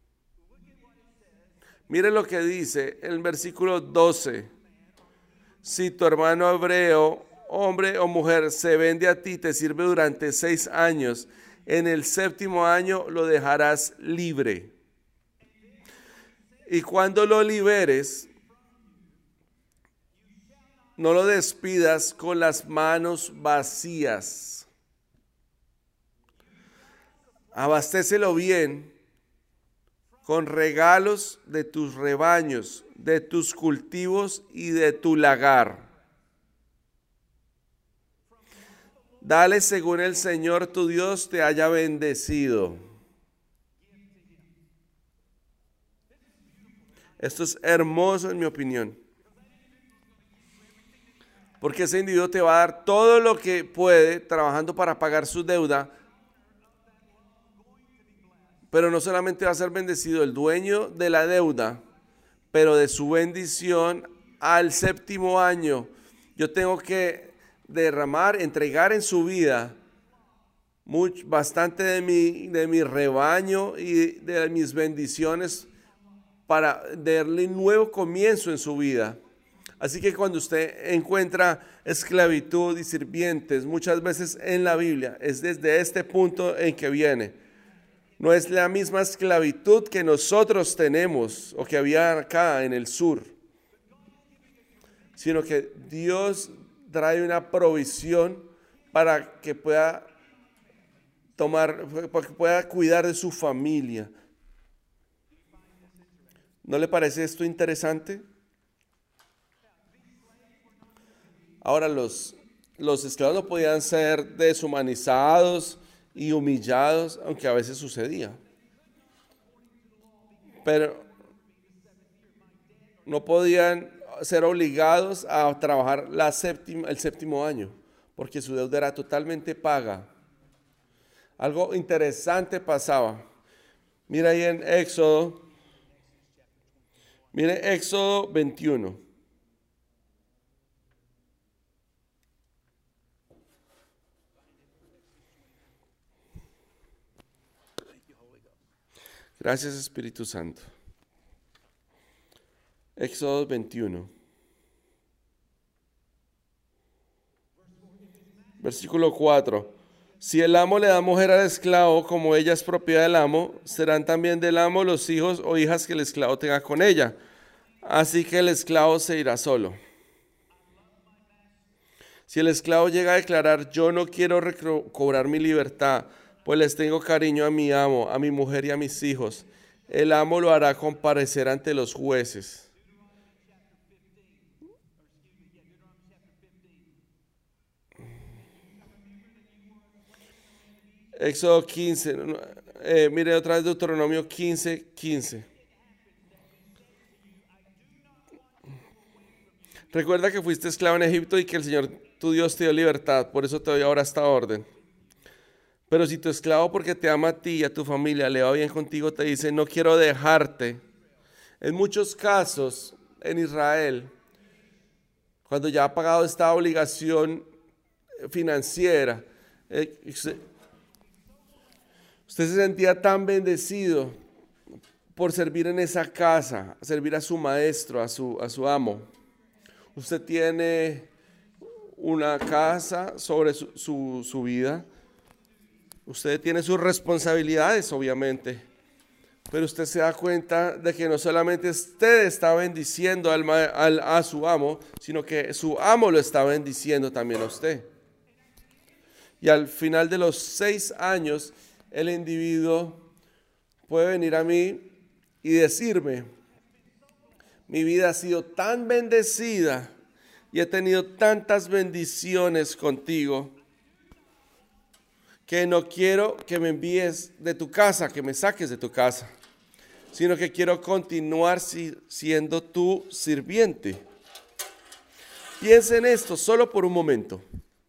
Mire lo que dice en el versículo doce. Si tu hermano hebreo, hombre o mujer, se vende a ti, te sirve durante seis años, en el séptimo año lo dejarás libre. Y cuando lo liberes, no lo despidas con las manos vacías. Abastécelo bien con regalos de tus rebaños, de tus cultivos y de tu lagar. Dale según el Señor tu Dios te haya bendecido. Esto es hermoso en mi opinión. Porque ese individuo te va a dar todo lo que puede trabajando para pagar su deuda. Pero no solamente va a ser bendecido el dueño de la deuda, pero de su bendición al séptimo año. Yo tengo que derramar, entregar en su vida mucho, bastante de mi, de mi rebaño y de mis bendiciones para darle un nuevo comienzo en su vida. Así que cuando usted encuentra esclavitud y sirvientes, muchas veces en la Biblia, es desde este punto en que viene. No es la misma esclavitud que nosotros tenemos o que había acá en el sur, sino que Dios trae una provisión para que pueda tomar, para que pueda cuidar de su familia. ¿No le parece esto interesante? Ahora, los, los esclavos no podían ser deshumanizados y humillados, aunque a veces sucedía. Pero no podían ser obligados a trabajar la séptima, el séptimo año, porque su deuda era totalmente paga. Algo interesante pasaba. Mira ahí en Éxodo. Mire Éxodo veintiuno. Gracias, Espíritu Santo. Éxodo veintiuno. Versículo cuatro. Si el amo le da mujer al esclavo, como ella es propiedad del amo, serán también del amo los hijos o hijas que el esclavo tenga con ella. Así que el esclavo se irá solo. Si el esclavo llega a declarar, yo no quiero recobrar mi libertad, pues les tengo cariño a mi amo, a mi mujer y a mis hijos, el amo lo hará comparecer ante los jueces. Éxodo quince, eh, mire otra vez Deuteronomio quince, quince. Recuerda que fuiste esclavo en Egipto y que el Señor tu Dios te dio libertad, por eso te doy ahora esta orden. Pero si tu esclavo, porque te ama a ti y a tu familia, le va bien contigo, te dice, no quiero dejarte. En muchos casos en Israel, cuando ya ha pagado esta obligación financiera, eh, usted, usted se sentía tan bendecido por servir en esa casa, servir a su maestro, a su, a su amo. Usted tiene una casa sobre su, su, su vida. Usted tiene sus responsabilidades, obviamente. Pero usted se da cuenta de que no solamente usted está bendiciendo al, al, a su amo, sino que su amo lo está bendiciendo también a usted. Y al final de los seis años, el individuo puede venir a mí y decirme, mi vida ha sido tan bendecida y he tenido tantas bendiciones contigo que no quiero que me envíes de tu casa, que me saques de tu casa, sino que quiero continuar si, siendo tu sirviente. Piensa en esto solo por un momento.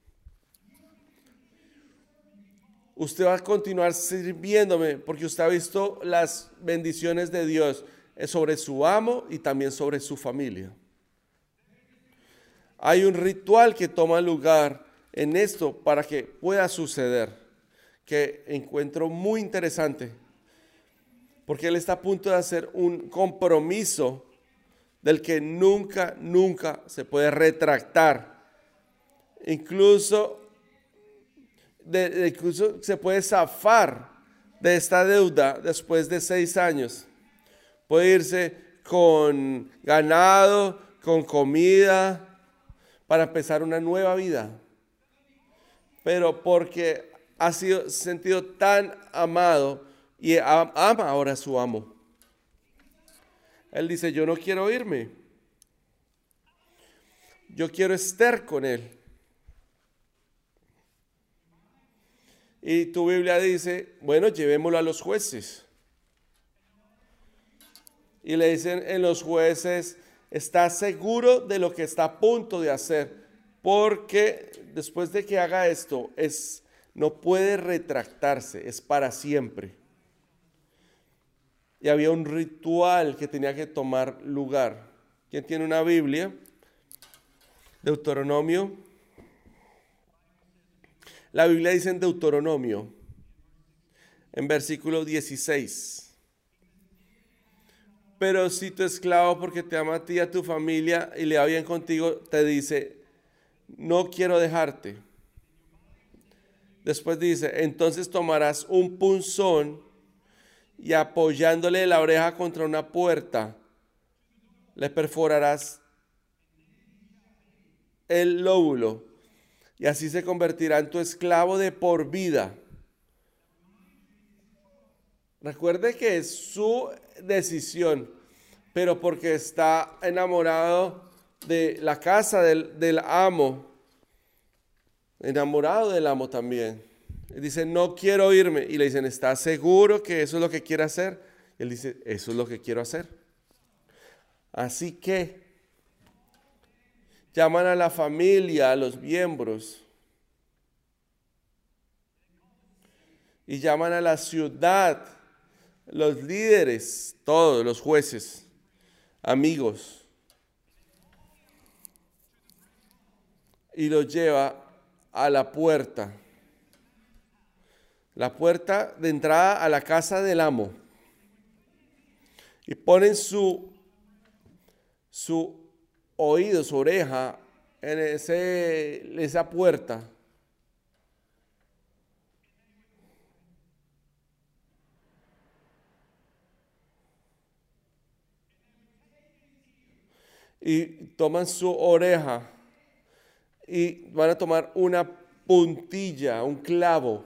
Usted va a continuar sirviéndome porque usted ha visto las bendiciones de Dios sobre su amo y también sobre su familia. Hay un ritual que toma lugar en esto para que pueda suceder, que encuentro muy interesante, porque él está a punto de hacer un compromiso del que nunca, nunca se puede retractar. Incluso, de, de, incluso se puede zafar de esta deuda después de seis años. Puede irse con ganado, con comida, para empezar una nueva vida, pero porque ha sido sentido tan amado y ama ahora a su amo. Él dice, yo no quiero irme, yo quiero estar con él. Y tu Biblia dice, bueno, llevémoslo a los jueces. Y le dicen en los jueces, está seguro de lo que está a punto de hacer, porque después de que haga esto, es, no puede retractarse, es para siempre. Y había un ritual que tenía que tomar lugar. ¿Quién tiene una Biblia? Deuteronomio. La Biblia dice en Deuteronomio, en versículo dieciséis. Pero si tu esclavo, porque te ama a ti y a tu familia y le va bien contigo, te dice, no quiero dejarte. Después dice, entonces tomarás un punzón y apoyándole la oreja contra una puerta, le perforarás el lóbulo y así se convertirá en tu esclavo de por vida. Recuerde que es su decisión, pero porque está enamorado de la casa del, del amo, enamorado del amo también. Él dice, no quiero irme. Y le dicen, ¿estás seguro que eso es lo que quiere hacer? Y él dice, eso es lo que quiero hacer. Así que llaman a la familia, a los miembros, y llaman a la ciudad, los líderes, todos los jueces, amigos, y los lleva a la puerta, la puerta de entrada a la casa del amo, y ponen su, su oído, su oreja en ese, esa puerta. Y toman su oreja y van a tomar una puntilla, un clavo,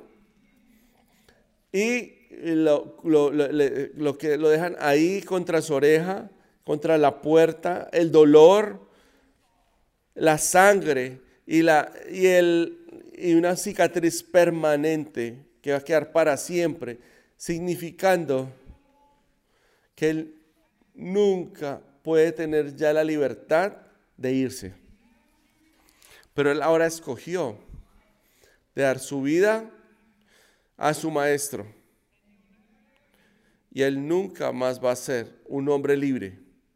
y lo, lo, lo, lo que lo dejan ahí contra su oreja, contra la puerta, el dolor, la sangre y, la, y, el, y una cicatriz permanente que va a quedar para siempre, significando que él nunca puede tener ya la libertad de irse. Pero él ahora escogió de dar su vida a su maestro. Y él nunca más va a ser un hombre libre.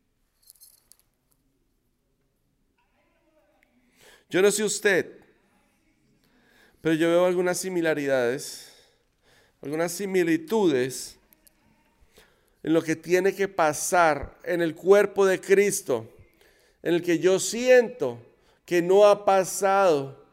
Yo no sé usted, pero yo veo algunas similaridades, algunas similitudes en lo que tiene que pasar en el cuerpo de Cristo, en el que yo siento que no ha pasado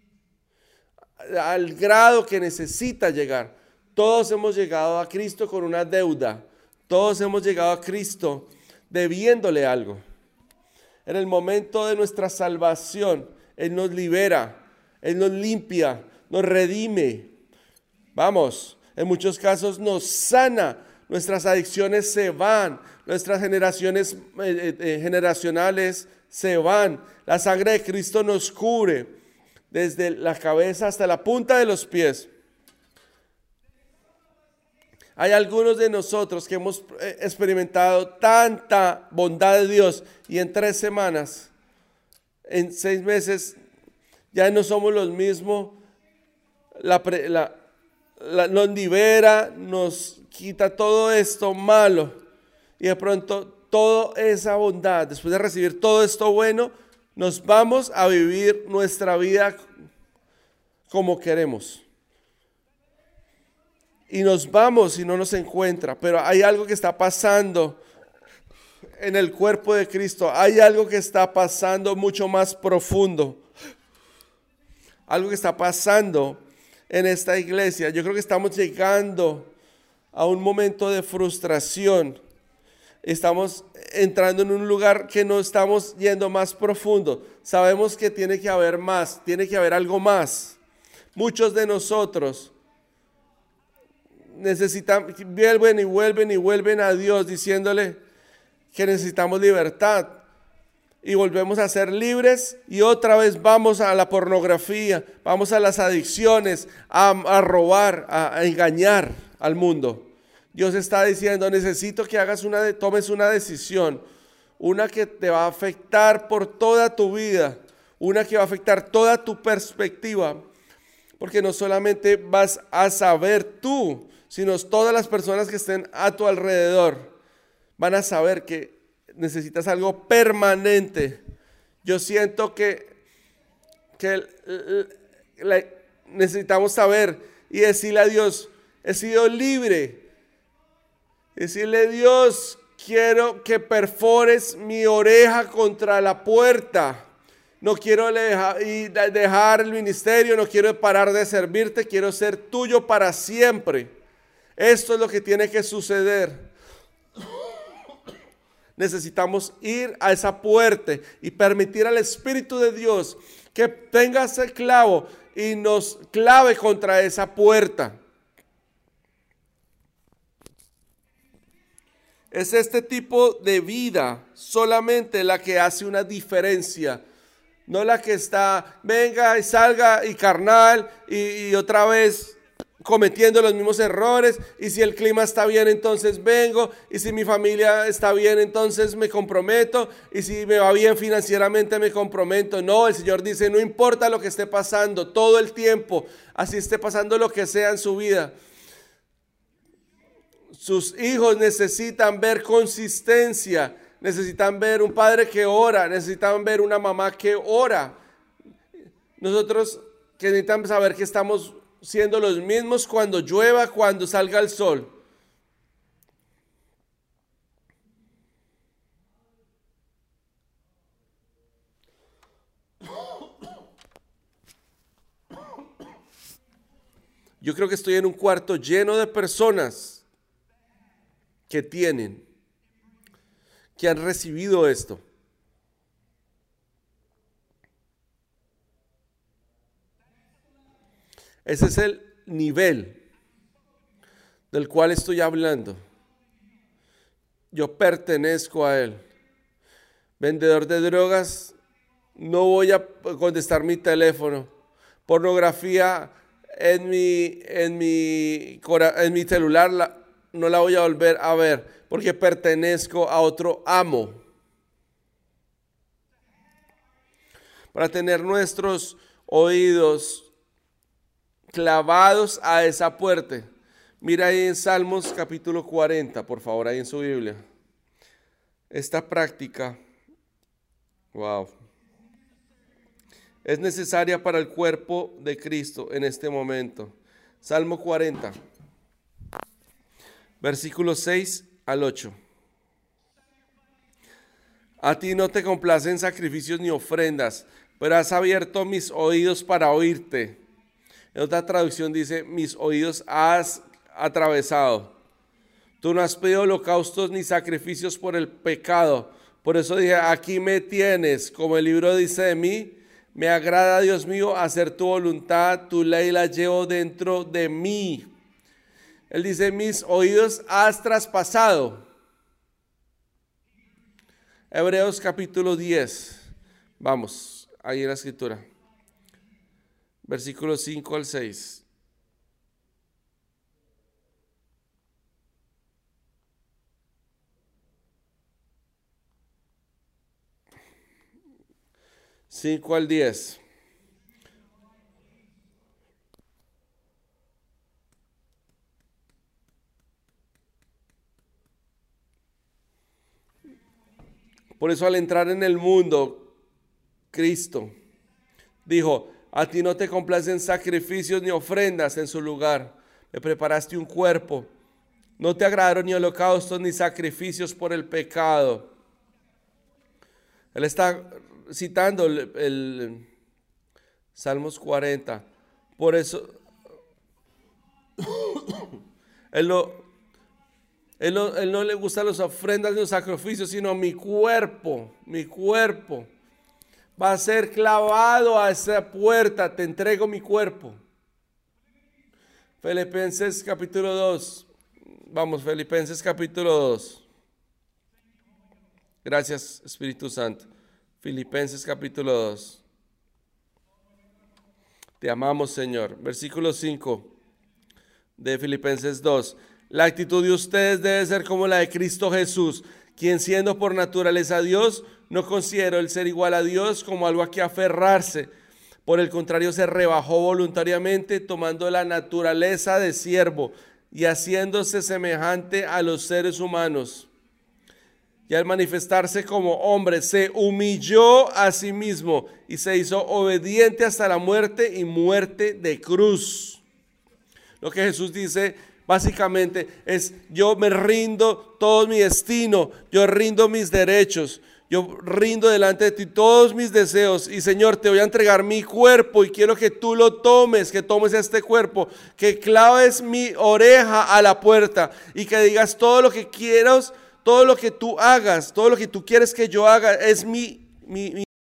al grado que necesita llegar. Todos hemos llegado a Cristo con una deuda. Todos hemos llegado a Cristo debiéndole algo. En el momento de nuestra salvación, Él nos libera, Él nos limpia, nos redime. Vamos, en muchos casos nos sana. Nuestras adicciones se van, nuestras generaciones eh, eh, generacionales se van. La sangre de Cristo nos cubre desde la cabeza hasta la punta de los pies. Hay algunos de nosotros que hemos experimentado tanta bondad de Dios y en tres semanas, en seis meses, ya no somos los mismos. La, la, la, nos libera, nos quita todo esto malo y de pronto toda esa bondad, después de recibir todo esto bueno, nos vamos a vivir nuestra vida como queremos. Y nos vamos y no nos encuentra, pero hay algo que está pasando en el cuerpo de Cristo, hay algo que está pasando mucho más profundo, algo que está pasando en esta iglesia. Yo creo que estamos llegando a un momento de frustración estamos entrando en un lugar que no estamos yendo más profundo. Sabemos que tiene que haber más, tiene que haber algo más. Muchos de nosotros necesitan, vuelven y vuelven y vuelven a Dios diciéndole que necesitamos libertad. Y volvemos a ser libres y otra vez vamos a la pornografía, vamos a las adicciones, a, a robar, a, a engañar al mundo. Dios está diciendo, necesito que hagas una, tomes una decisión, una que te va a afectar por toda tu vida, una que va a afectar toda tu perspectiva, porque no solamente vas a saber tú, sino todas las personas que estén a tu alrededor van a saber que necesitas algo permanente. Yo siento que, que la, necesitamos saber y decirle a Dios, he sido libre. Decirle, Dios, quiero que perfores mi oreja contra la puerta. No quiero dejar el ministerio, no quiero parar de servirte, quiero ser tuyo para siempre. Esto es lo que tiene que suceder. Necesitamos ir a esa puerta y permitir al Espíritu de Dios que tenga ese clavo y nos clave contra esa puerta. Es este tipo de vida solamente la que hace una diferencia. No la que está, venga y salga y carnal y, y otra vez cometiendo los mismos errores. Y si el clima está bien, entonces vengo. Y si mi familia está bien, entonces me comprometo. Y si me va bien financieramente, me comprometo. No, el Señor dice, no importa lo que esté pasando, todo el tiempo, así esté pasando lo que sea en su vida. Sus hijos necesitan ver consistencia, necesitan ver un padre que ora, necesitan ver una mamá que ora. Nosotros que necesitamos saber que estamos siendo los mismos cuando llueva, cuando salga el sol. Yo creo que estoy en un cuarto lleno de personas que tienen, que han recibido esto. Ese es el nivel del cual estoy hablando. Yo pertenezco a él. Vendedor de drogas, no voy a contestar mi teléfono. Pornografía en mi, en mi, en mi celular la, no la voy a volver a ver porque pertenezco a otro amo. Para tener nuestros oídos clavados a esa puerta. Mira ahí en Salmos capítulo cuarenta, por favor, ahí en su Biblia. Esta práctica, wow, es necesaria para el cuerpo de Cristo en este momento. Salmo cuarenta. Versículos seis al ocho. A ti no te complacen sacrificios ni ofrendas, pero has abierto mis oídos para oírte. En otra traducción dice, mis oídos has atravesado. Tú no has pedido holocaustos ni sacrificios por el pecado. Por eso dije, aquí me tienes, como el libro dice de mí. Me agrada, Dios mío, hacer tu voluntad, tu ley la llevo dentro de mí. Él dice, mis oídos has traspasado. Hebreos capítulo diez. Vamos, ahí en la escritura. Versículos cinco al seis. cinco al diez. Por eso al entrar en el mundo, Cristo dijo, a ti no te complacen sacrificios ni ofrendas, en su lugar me preparaste un cuerpo. No te agradaron ni holocaustos ni sacrificios por el pecado. Él está citando el, el Salmos cuarenta. Por eso, él lo, Él no, él no le gustan las ofrendas ni los sacrificios, sino mi cuerpo, mi cuerpo va a ser clavado a esa puerta, te entrego mi cuerpo. Filipenses capítulo dos. Vamos, Filipenses capítulo dos. Gracias, Espíritu Santo. Filipenses capítulo dos. Te amamos, Señor. Versículo cinco de Filipenses dos. La actitud de ustedes debe ser como la de Cristo Jesús, quien siendo por naturaleza Dios, no consideró el ser igual a Dios como algo a que aferrarse. Por el contrario, se rebajó voluntariamente, tomando la naturaleza de siervo y haciéndose semejante a los seres humanos. Y al manifestarse como hombre, se humilló a sí mismo y se hizo obediente hasta la muerte y muerte de cruz. Lo que Jesús dice básicamente es: yo me rindo todo mi destino, yo rindo mis derechos, yo rindo delante de ti todos mis deseos y Señor, te voy a entregar mi cuerpo y quiero que tú lo tomes, que tomes este cuerpo, que claves mi oreja a la puerta y que digas todo lo que quieras, todo lo que tú hagas, todo lo que tú quieres que yo haga es mi, mi, mi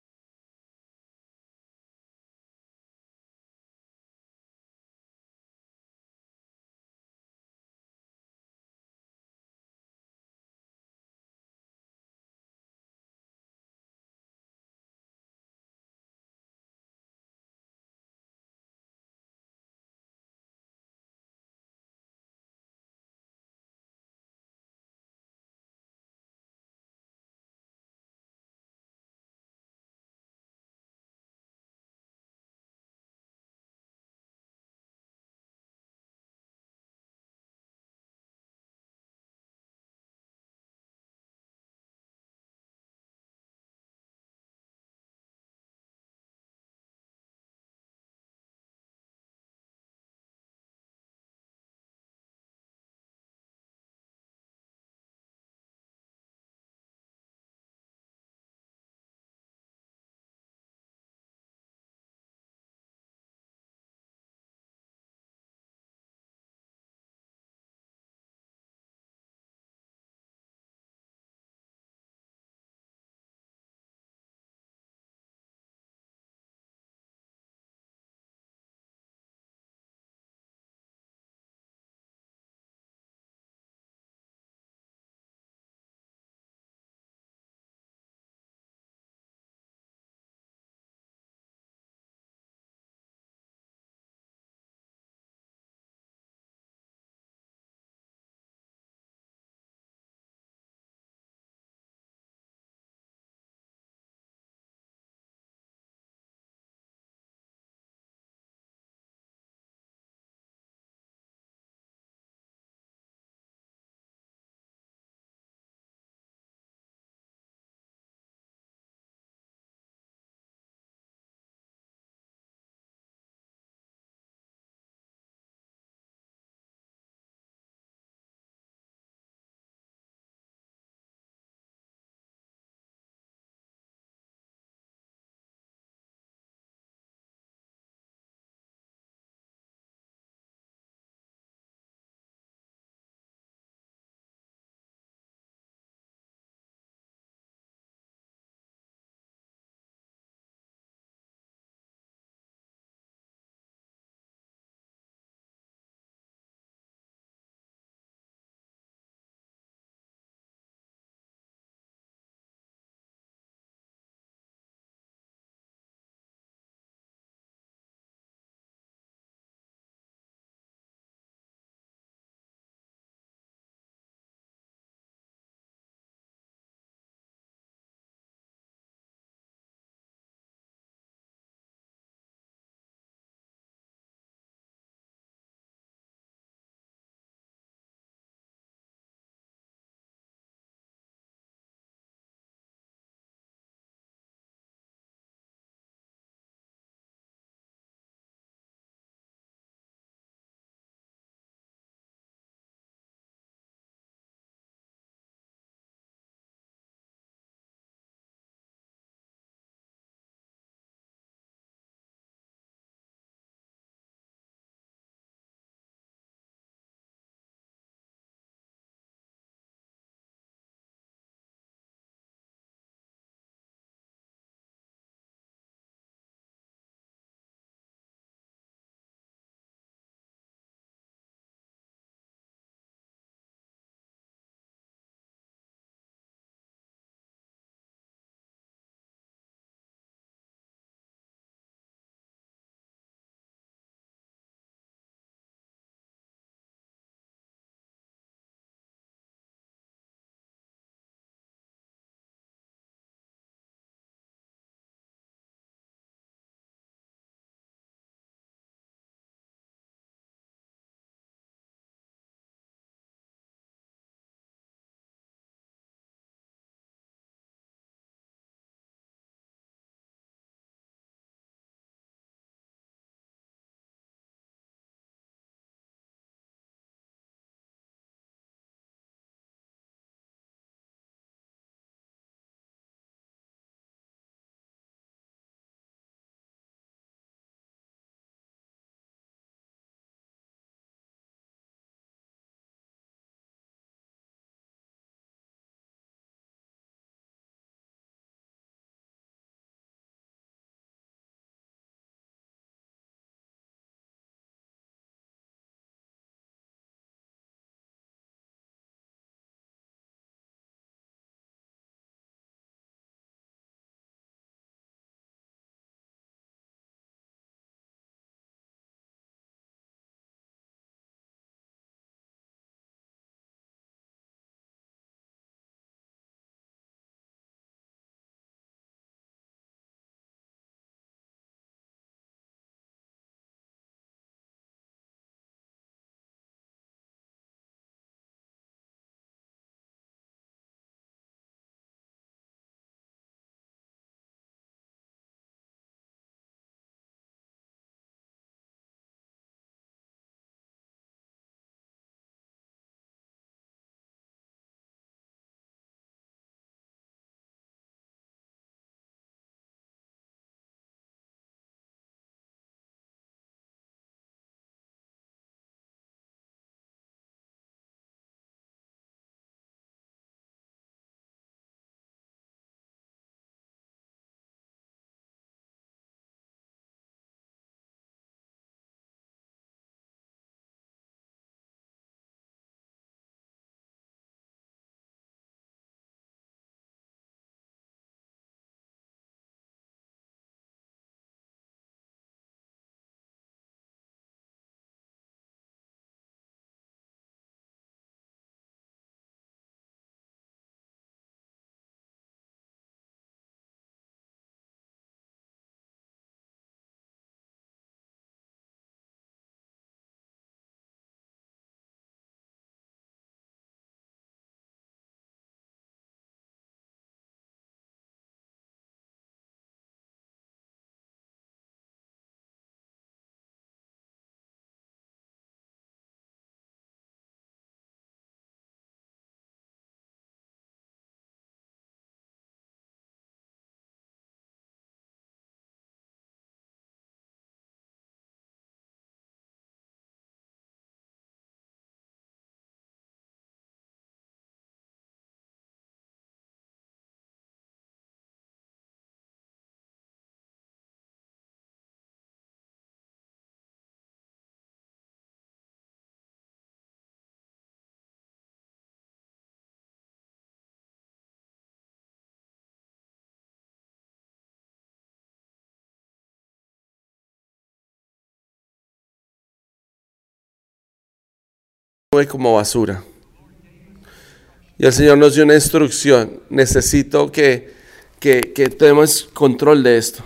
nube como basura. Y el Señor nos dio una instrucción. Necesito que, que, que tomemos control de esto.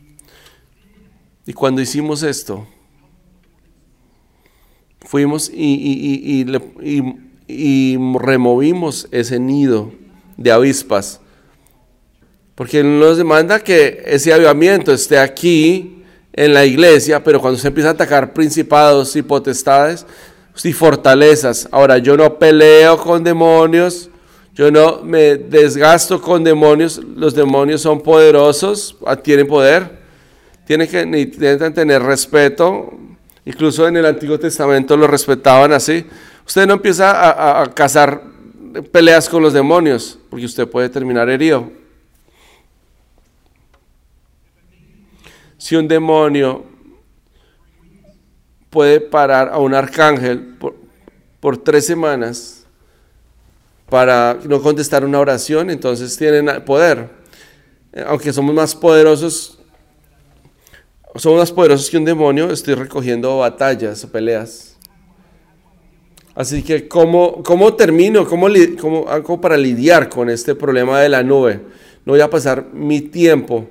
Y cuando hicimos esto, fuimos y, y, y, y, y, y removimos ese nido de avispas. Porque Él nos demanda que ese avivamiento esté aquí en la iglesia, pero cuando se empieza a atacar principados y potestades y fortalezas. Ahora, yo no peleo con demonios, yo no me desgasto con demonios. Los demonios son poderosos, tienen poder, tienen que intentan tener respeto. Incluso en el Antiguo Testamento lo respetaban así. Usted no empieza a, a, a cazar peleas con los demonios, porque usted puede terminar herido. Si un demonio puede parar a un arcángel por, por tres semanas para no contestar una oración, entonces tienen poder. Aunque somos más poderosos, somos más poderosos que un demonio, estoy recogiendo batallas o peleas. Así que, ¿cómo, cómo termino? ¿Cómo, cómo hago para lidiar con este problema de la nube? No voy a pasar mi tiempo,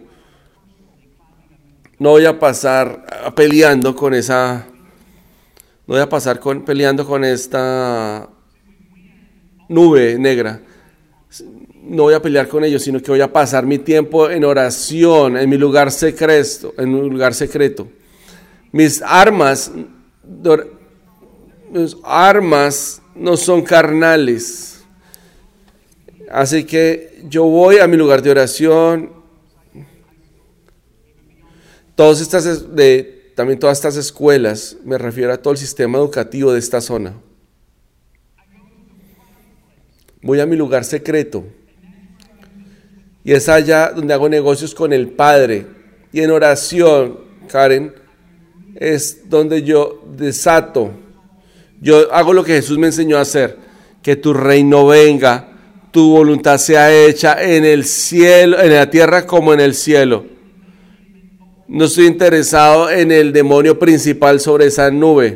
no voy a pasar peleando con esa, no voy a pasar con, peleando con esta nube negra. No voy a pelear con ellos, sino que voy a pasar mi tiempo en oración, en mi lugar secreto, en un lugar secreto. Mis armas, mis armas no son carnales. Así que yo voy a mi lugar de oración. Todas estas, de, también todas estas escuelas, me refiero a todo el sistema educativo de esta zona. Voy a mi lugar secreto. Y es allá donde hago negocios con el Padre. Y en oración, Karen, es donde yo desato. Yo hago lo que Jesús me enseñó a hacer. Que tu reino venga, tu voluntad sea hecha en el cielo, en la tierra como en el cielo. No estoy interesado en el demonio principal sobre esa nube.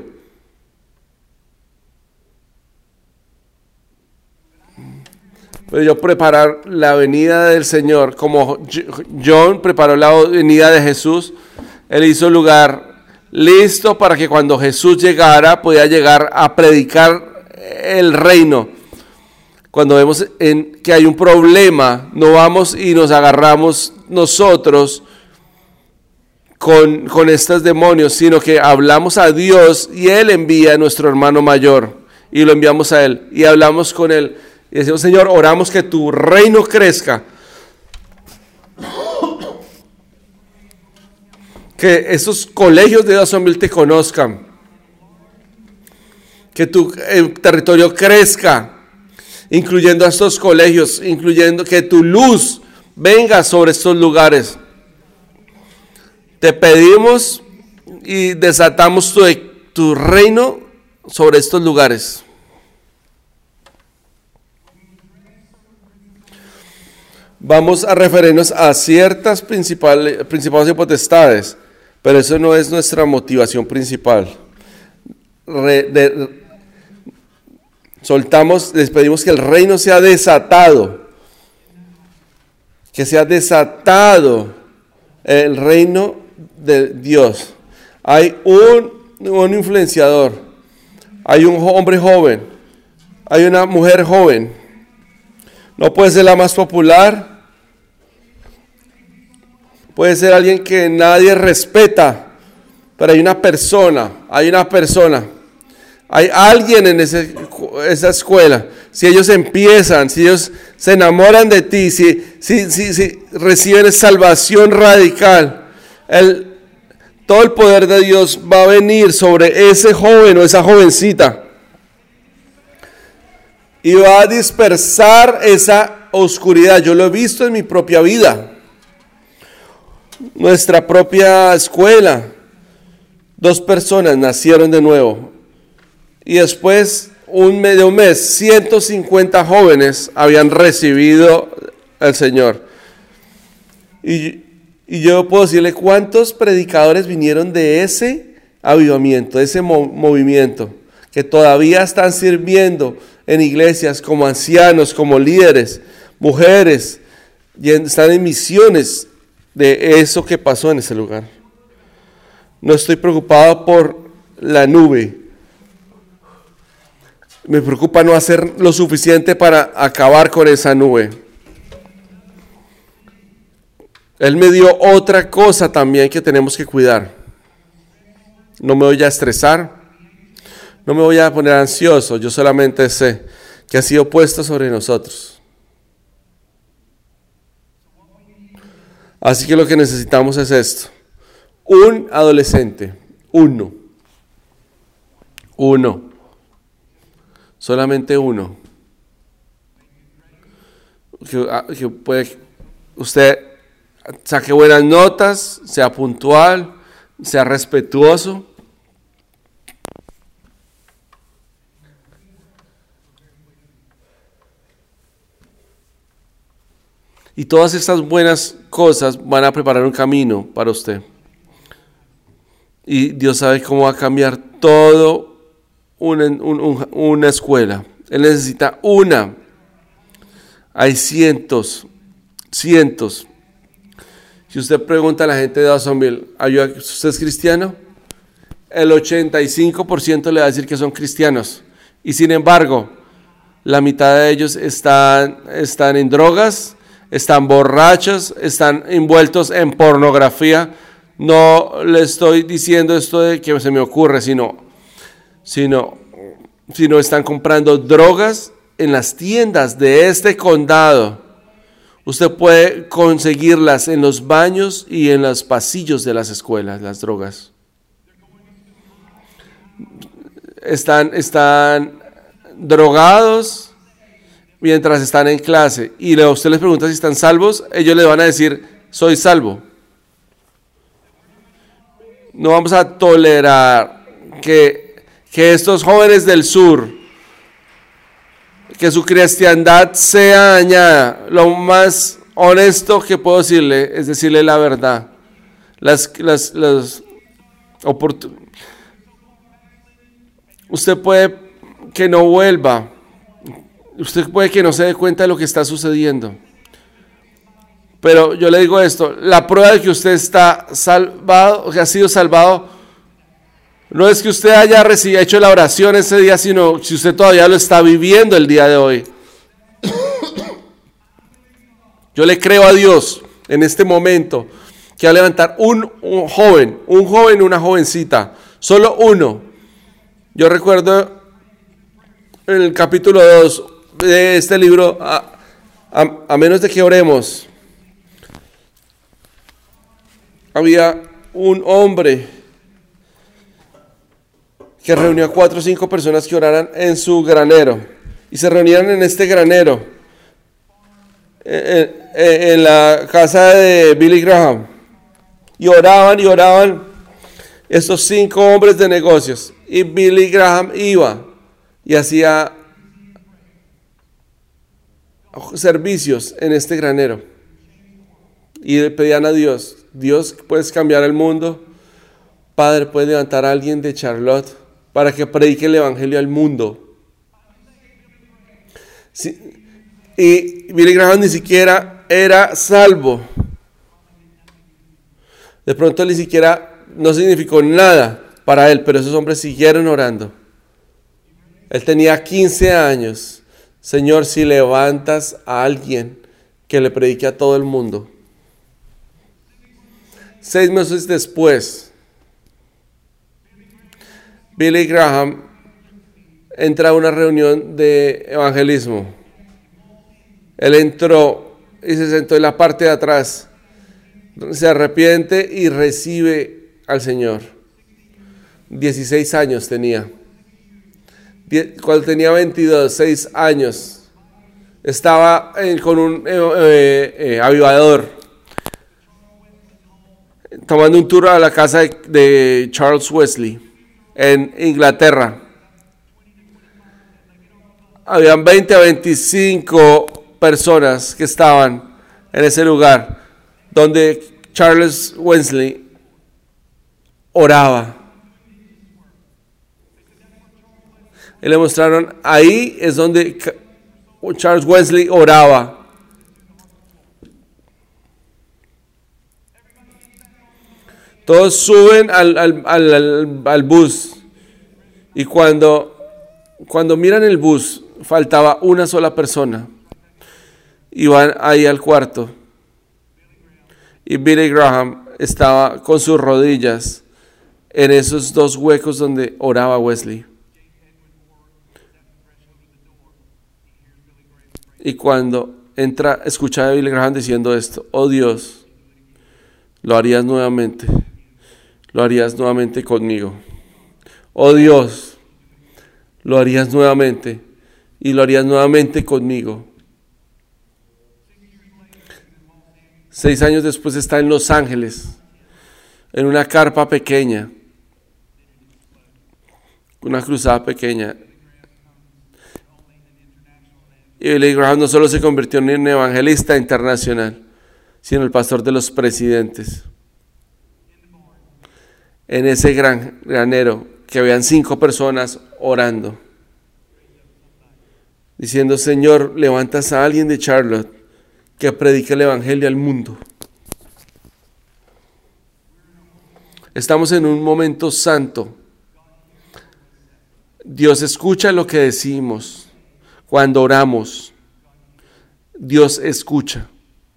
Pero yo preparar la venida del Señor, como John preparó la venida de Jesús, Él hizo lugar listo para que cuando Jesús llegara, pudiera llegar a predicar el reino. Cuando vemos en que hay un problema, no vamos y nos agarramos nosotros con, con estos demonios, sino que hablamos a Dios y Él envía a nuestro hermano mayor y lo enviamos a Él y hablamos con Él. Y decimos, Señor, oramos que tu reino crezca. Que esos colegios de Jacksonville te conozcan. Que tu eh, territorio crezca, incluyendo a estos colegios, incluyendo que tu luz venga sobre estos lugares. Te pedimos y desatamos tu, tu reino sobre estos lugares. Vamos a referirnos a ciertas principales, principales y potestades, pero eso no es nuestra motivación principal. Re, de, soltamos, les pedimos que el reino sea desatado, que sea desatado el reino de Dios. Hay un, un influenciador, hay un hombre joven, hay una mujer joven, no puede ser la más popular. Puede ser alguien que nadie respeta, pero hay una persona, hay una persona, hay alguien en ese, esa escuela. Si ellos empiezan, si ellos se enamoran de ti, si, si, si, si reciben salvación radical, el, todo el poder de Dios va a venir sobre ese joven o esa jovencita y va a dispersar esa oscuridad. Yo lo he visto en mi propia vida. Nuestra propia escuela, dos personas nacieron de nuevo y después un mes, de un mes, ciento cincuenta jóvenes habían recibido al Señor. Y, y yo puedo decirle cuántos predicadores vinieron de ese avivamiento, de ese mo- movimiento, que todavía están sirviendo en iglesias como ancianos, como líderes, mujeres, y están en misiones de eso que pasó en ese lugar. No estoy preocupado por la nube. Me preocupa no hacer lo suficiente para acabar con esa nube. Él me dio otra cosa también que tenemos que cuidar. No me voy a estresar, no me voy a poner ansioso, yo solamente sé que ha sido puesto sobre nosotros. Así que lo que necesitamos es esto. Un adolescente, uno, uno, solamente uno, que, que puede, usted saque buenas notas, sea puntual, sea respetuoso. Y todas estas buenas cosas van a preparar un camino para usted. Y Dios sabe cómo va a cambiar todo una, un, una escuela. Él necesita una. Hay cientos, cientos. Si usted pregunta a la gente de Dawsonville, ¿usted es cristiano? El ochenta y cinco por ciento le va a decir que son cristianos. Y sin embargo, la mitad de ellos están, están en drogas, están borrachos, están envueltos en pornografía. No le estoy diciendo esto de que se me ocurre, sino, sino, sino están comprando drogas en las tiendas de este condado. Usted puede conseguirlas en los baños y en los pasillos de las escuelas, las drogas. Están, están drogados mientras están en clase y usted les pregunta si están salvos, ellos le van a decir, soy salvo. No vamos a tolerar que, que estos jóvenes del sur, que su cristiandad sea dañada. Lo más honesto que puedo decirle es decirle la verdad. Las, las, las oportun- Usted puede que no vuelva. Usted puede que no se dé cuenta de lo que está sucediendo. Pero yo le digo esto, la prueba de que usted está salvado, que ha sido salvado, no es que usted haya recibido, hecho la oración ese día, sino si usted todavía lo está viviendo el día de hoy. Yo le creo a Dios en este momento que va a levantar un, un joven, un joven, una jovencita, solo uno. Yo recuerdo en el capítulo dos de este libro, a, a, a menos de que oremos, había un hombre que reunió a cuatro o cinco personas que oraran en su granero. Y se reunían en este granero, en, en, en la casa de Billy Graham. Y oraban y oraban estos cinco hombres de negocios. Y Billy Graham iba y hacía servicios en este granero. Y le pedían a Dios, Dios, ¿puedes cambiar el mundo? Padre, ¿puedes levantar a alguien de Charlotte para que predique el evangelio al mundo? Sí. Y Billy Graham ni siquiera era salvo. De pronto ni siquiera no significó nada para él, pero esos hombres siguieron orando. Él tenía quince años. Señor, si levantas a alguien que le predique a todo el mundo. Seis meses después, Billy Graham entra a una reunión de evangelismo. Él entró y se sentó en la parte de atrás. Se arrepiente y recibe al Señor. dieciséis años tenía. Cuando tenía veintidós, seis años, estaba eh, con un eh, eh, eh, avivador, tomando un tour a la casa de, de Charles Wesley en Inglaterra. Habían veinte a veinticinco personas que estaban en ese lugar donde Charles Wesley oraba. Y le mostraron, ahí es donde Charles Wesley oraba. Todos suben al, al, al, al, al bus y cuando, cuando miran el bus faltaba una sola persona y van ahí al cuarto y Billy Graham estaba con sus rodillas en esos dos huecos donde oraba Wesley. Y cuando entra, escucha a Billy Graham diciendo esto: oh Dios, lo harías nuevamente, lo harías nuevamente conmigo. Oh Dios, lo harías nuevamente y lo harías nuevamente conmigo. Seis años después está en Los Ángeles, en una carpa pequeña, una cruzada pequeña. Y Billy Graham no solo se convirtió en un evangelista internacional, sino el pastor de los presidentes. En ese gran granero que habían cinco personas orando, diciendo: Señor, levantas a alguien de Charlotte que predique el evangelio al mundo. Estamos en un momento santo. Dios escucha lo que decimos. Cuando oramos, Dios escucha.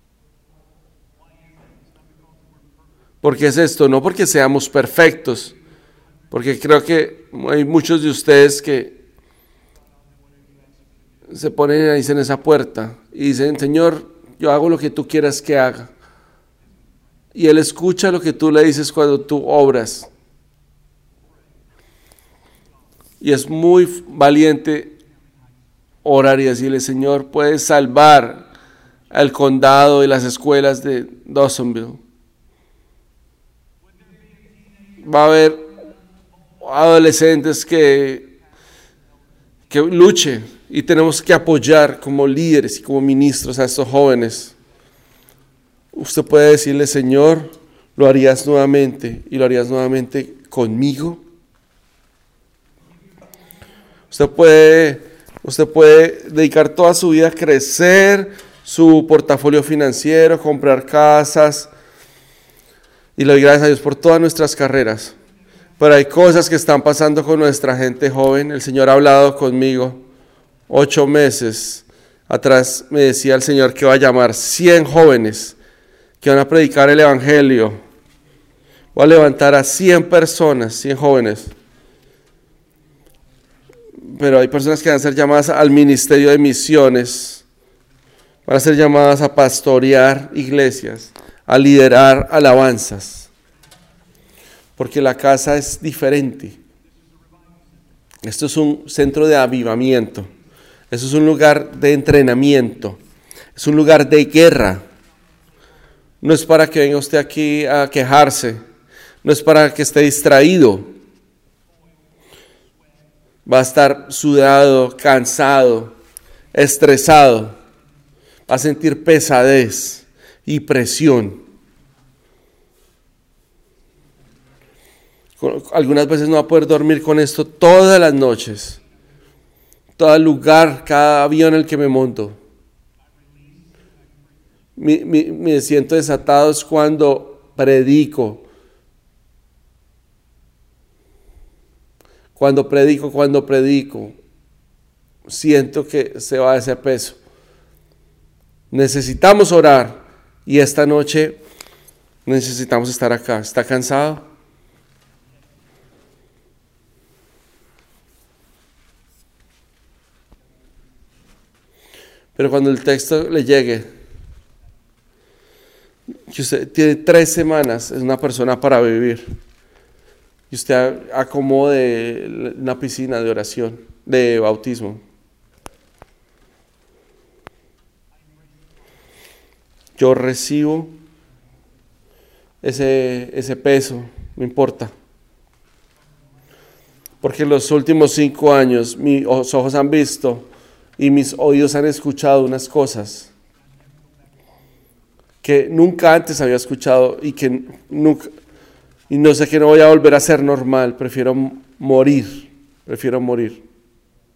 ¿Por qué es esto? No porque seamos perfectos, porque creo que hay muchos de ustedes que se ponen ahí en esa puerta y dicen: Señor, yo hago lo que tú quieras que haga. Y Él escucha lo que tú le dices cuando tú obras. Y es muy valiente orar y decirle: Señor, puedes salvar al condado y las escuelas de Dawsonville. Va a haber adolescentes que, que luchen y tenemos que apoyar como líderes y como ministros a estos jóvenes. Usted puede decirle: Señor, lo harías nuevamente y lo harías nuevamente conmigo. Usted puede Usted puede dedicar toda su vida a crecer su portafolio financiero, comprar casas, y le doy gracias a Dios por todas nuestras carreras. Pero hay cosas que están pasando con nuestra gente joven. El Señor ha hablado conmigo. Ocho meses atrás me decía el Señor que va a llamar cien jóvenes que van a predicar el evangelio. Voy a levantar a cien personas, cien jóvenes. Pero hay personas que van a ser llamadas al ministerio de misiones, van a ser llamadas a pastorear iglesias, a liderar alabanzas, porque la casa es diferente. Esto es un centro de avivamiento, esto es un lugar de entrenamiento, es un lugar de guerra. No es para que venga usted aquí a quejarse, no es para que esté distraído. Va a estar sudado, cansado, estresado. Va a sentir pesadez y presión. Algunas veces no va a poder dormir con esto todas las noches. Todo lugar, cada avión en el que me monto. Me, me, me siento desatado es cuando predico. Cuando predico, cuando predico, siento que se va ese peso. Necesitamos orar y esta noche necesitamos estar acá. ¿Está cansado? Pero cuando el texto le llegue, que usted tiene tres semanas, es una persona para vivir. Y usted acomode una piscina de oración, de bautismo. Yo recibo ese, ese peso, no importa. Porque en los últimos cinco años mis ojos han visto y mis oídos han escuchado unas cosas que nunca antes había escuchado y que nunca... Y no sé que no voy a volver a ser normal, prefiero morir, prefiero morir.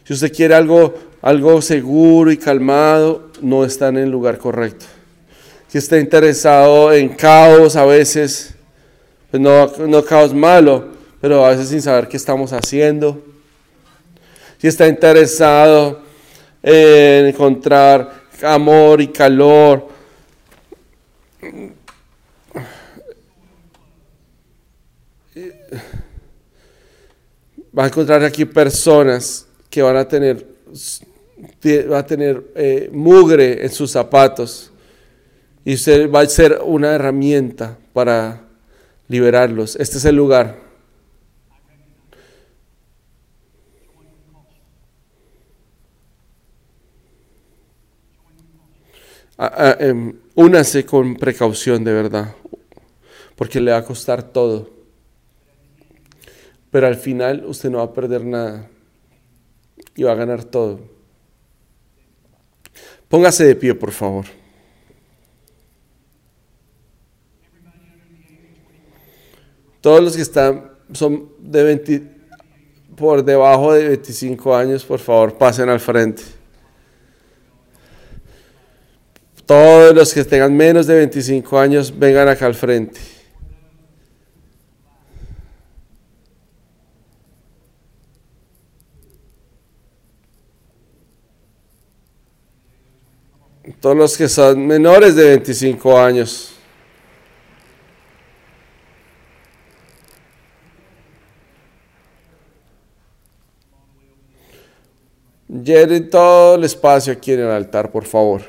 Si usted quiere algo, algo seguro y calmado, no está en el lugar correcto. Si está interesado en caos a veces, pues no, no caos malo, pero a veces sin saber qué estamos haciendo. Si está interesado en encontrar amor y calor, va a encontrar aquí personas que van a tener, va a tener eh, mugre en sus zapatos y usted va a ser una herramienta para liberarlos. Este es el lugar. Ah, ah, eh, únase con precaución de verdad, porque le va a costar todo. Pero al final usted no va a perder nada y va a ganar todo. Póngase de pie, por favor. Todos los que están son de veinte, por debajo de veinticinco años, por favor, pasen al frente. Todos los que tengan menos de veinticinco años, vengan acá al frente. Todos los que son menores de veinticinco años. Llenen todo el espacio aquí en el altar, por favor.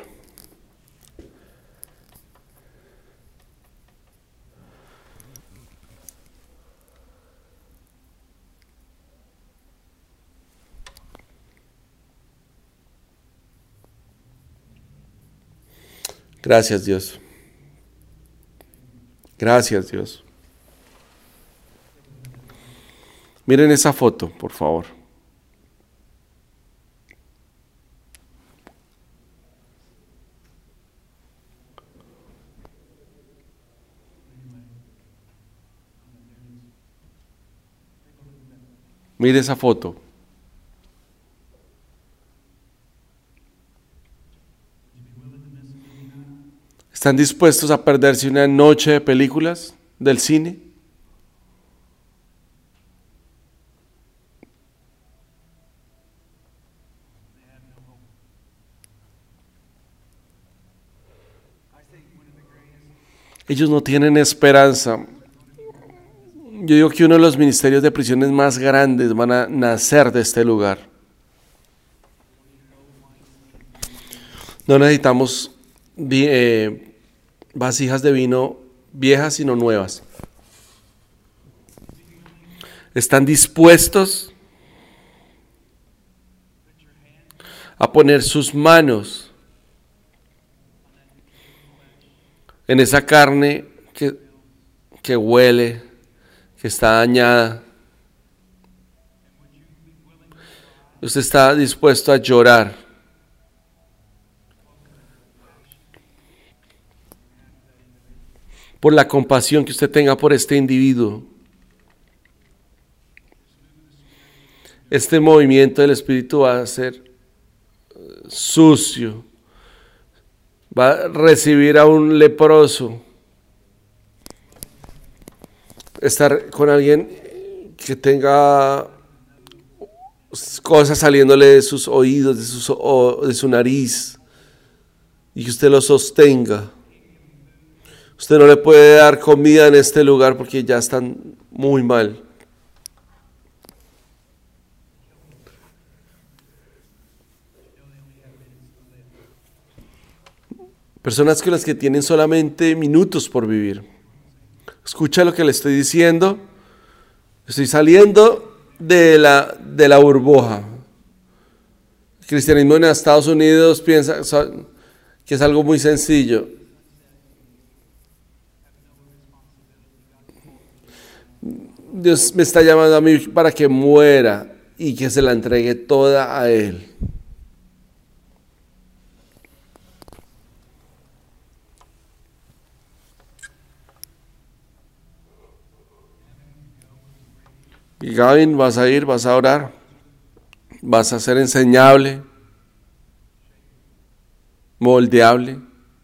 Gracias, Dios. Gracias, Dios. Miren esa foto, por favor. Mire esa foto. ¿Están dispuestos a perderse una noche de películas del cine? Ellos no tienen esperanza. Yo digo que uno de los ministerios de prisiones más grandes van a nacer de este lugar. No necesitamos eh, vasijas de vino viejas, sino nuevas. ¿Están dispuestos a poner sus manos en esa carne que, que huele, que está dañada? Usted está dispuesto a llorar por la compasión que usted tenga por este individuo. Este movimiento del Espíritu va a ser sucio, va a recibir a un leproso, estar con alguien que tenga cosas saliéndole de sus oídos, de, sus, de su nariz, y que usted lo sostenga. Usted no le puede dar comida en este lugar porque ya están muy mal. Personas con las que tienen solamente minutos por vivir. Escucha lo que le estoy diciendo. Estoy saliendo de la, de la burbuja. El cristianismo en Estados Unidos piensa que es algo muy sencillo. Dios me está llamando a mí para que muera y que se la entregue toda a Él. Y Gavin, vas a ir, vas a orar, Vas a ser enseñable, moldeable.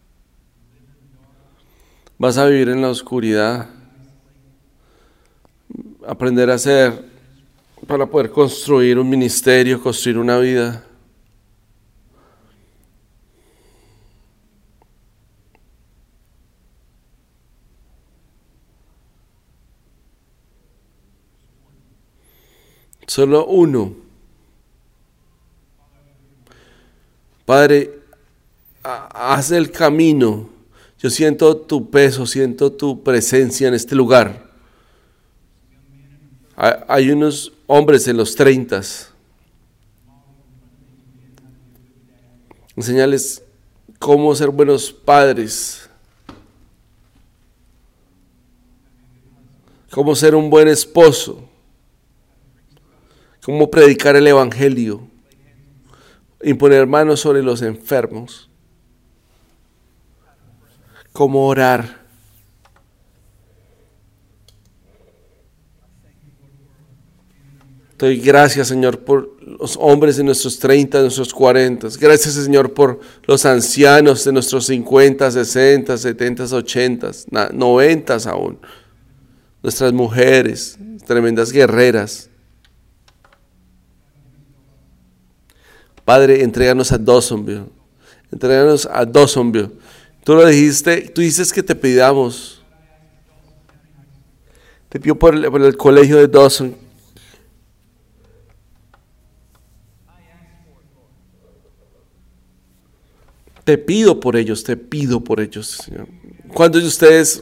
Vas a vivir en la oscuridad. Aprender a hacer para poder construir un ministerio, construir una vida. Solo uno. Padre, haz el camino. Yo siento tu peso, siento tu presencia en este lugar. Hay unos hombres en los treintas. Enseñarles cómo ser buenos padres. Cómo ser un buen esposo. Cómo predicar el evangelio. Imponer manos sobre los enfermos. Cómo orar. Te doy gracias, Señor, por los hombres de nuestros treinta, de nuestros cuarenta. Gracias, Señor, por los ancianos de nuestros cincuenta, sesenta, setenta, ochenta, noventa aún. Nuestras mujeres, tremendas guerreras. Padre, entréganos a Dawsonville. Entréganos a Dawsonville. Tú lo dijiste, tú dices que te pidamos. Te pido por el, por el colegio de Dawson. Te pido por ellos, te pido por ellos, Señor. ¿Cuántos de ustedes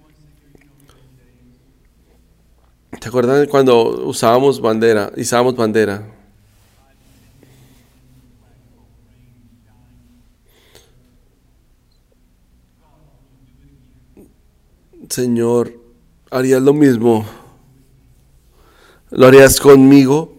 se acuerdan de cuando usábamos bandera, izábamos bandera? Señor, ¿harías lo mismo? ¿Lo harías conmigo?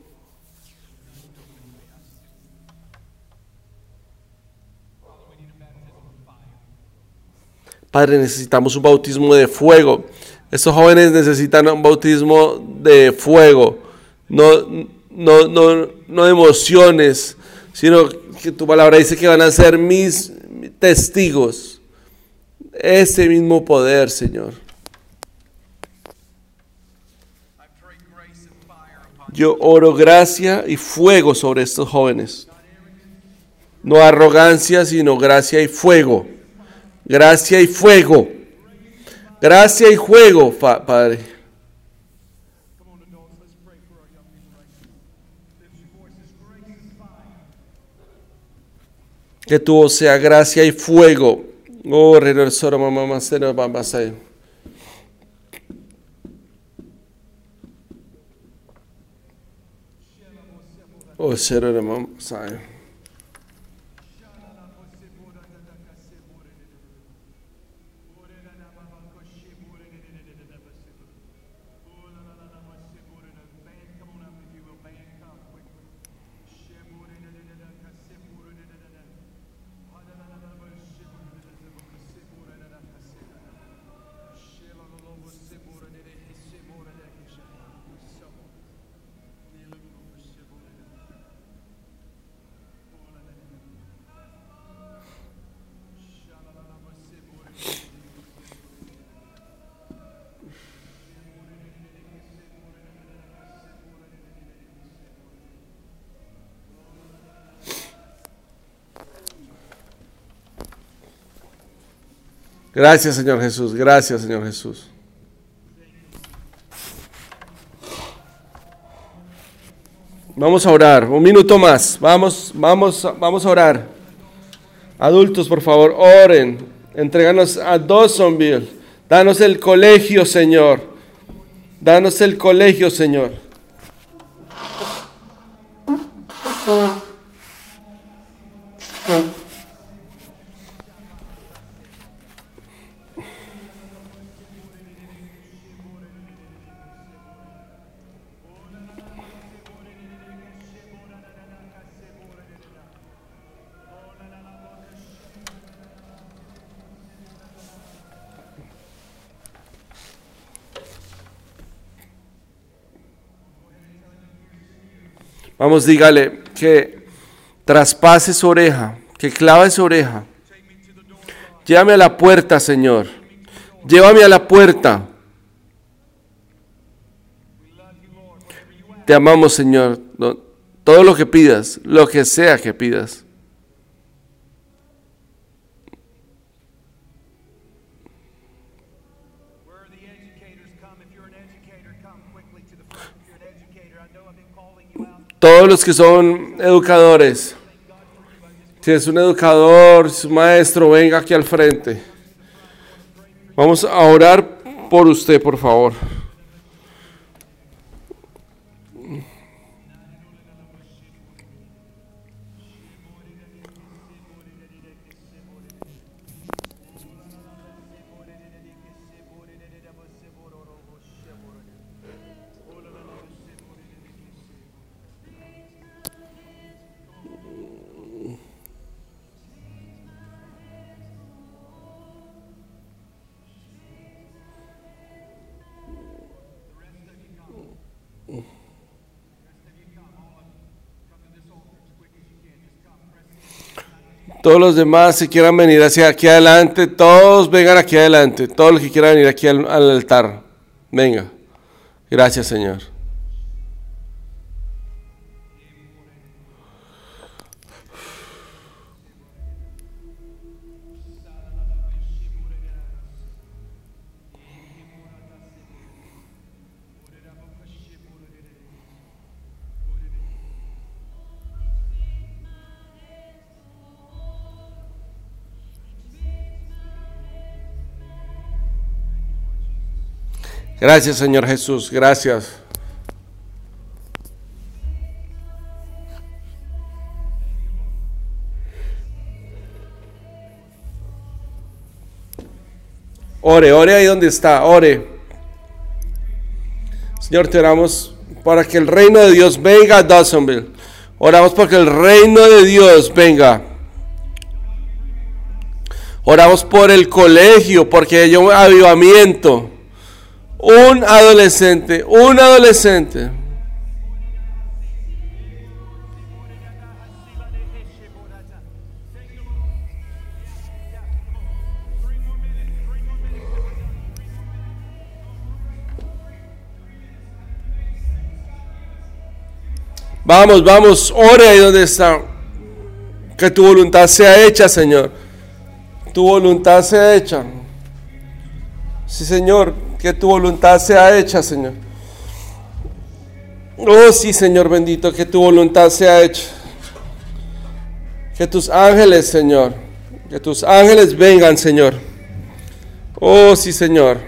Padre, necesitamos un bautismo de fuego. Estos jóvenes necesitan un bautismo de fuego, no, no, no, no de emociones, sino que tu palabra dice que van a ser mis testigos. Ese mismo poder, Señor. Yo oro gracia y fuego sobre estos jóvenes. No arrogancia, sino gracia y fuego. Gracia y fuego. Gracia y fuego, Padre. Que tu voz sea gracia y fuego. Oh, Rey Soro, mamá, mamá, mamá, oh, Sero, mamá, mamá. Gracias, Señor Jesús. Gracias, Señor Jesús. Vamos a orar. Un minuto más. Vamos, vamos, vamos a orar. Adultos, por favor, oren. Entréganos a Dawsonville. Danos el colegio, Señor. Danos el colegio, Señor. Vamos, dígale que traspase su oreja, que clave su oreja. Llévame a la puerta, Señor. Llévame a la puerta. Te amamos, Señor. Todo lo que pidas, lo que sea que pidas. Todos los que son educadores, si es un educador, si es un maestro, venga aquí al frente. Vamos a orar por usted, por favor. Todos los demás, si quieran venir hacia aquí adelante, todos vengan aquí adelante. Todos los que quieran venir aquí al, al altar, venga. Gracias, Señor. Gracias, Señor Jesús, gracias. Ore, ore ahí donde está, ore. Señor, te oramos para que el reino de Dios venga a Dawsonville. Oramos para que el reino de Dios venga. Oramos por el colegio, porque hay un avivamiento. Un adolescente, un adolescente. Vamos, vamos, ore ahí donde está. Que tu voluntad sea hecha, Señor. Tu voluntad sea hecha. Sí, Señor. Que tu voluntad sea hecha, Señor. Oh, sí, Señor bendito, que tu voluntad sea hecha. Que tus ángeles, Señor, que tus ángeles vengan, Señor. Oh, sí, Señor.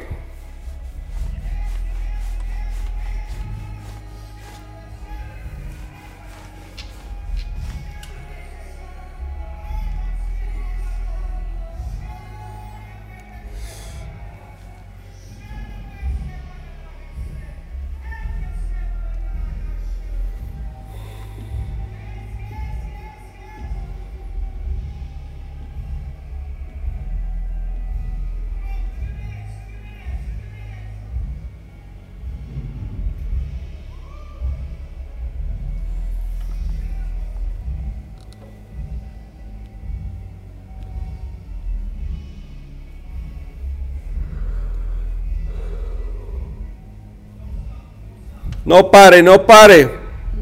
No pare, no pare.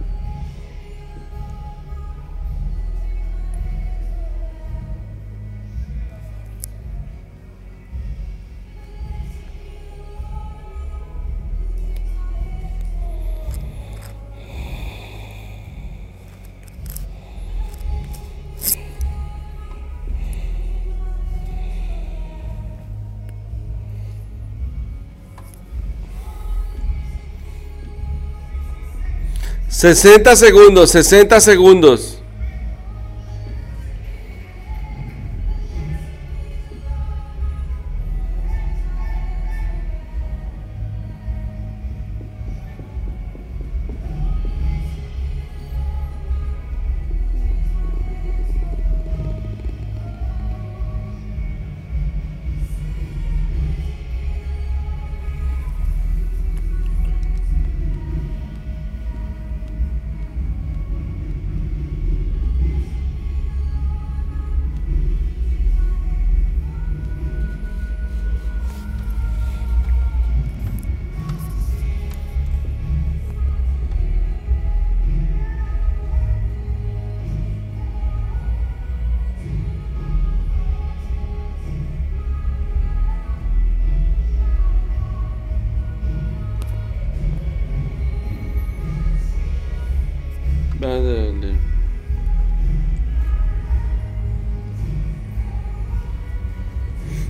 sesenta segundos, sesenta segundos.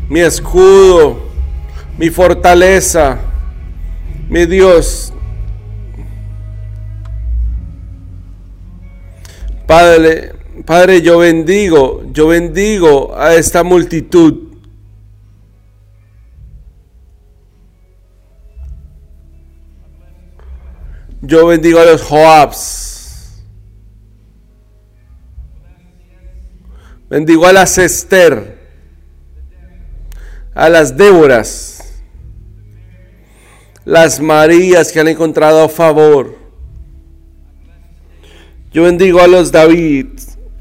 mi escudo, mi fortaleza, mi Dios. Padre, Padre, yo bendigo, yo bendigo a esta multitud. Yo bendigo a los Joabs. Bendigo a las Esther, a las Déboras, las Marías que han encontrado favor. Yo bendigo a los David.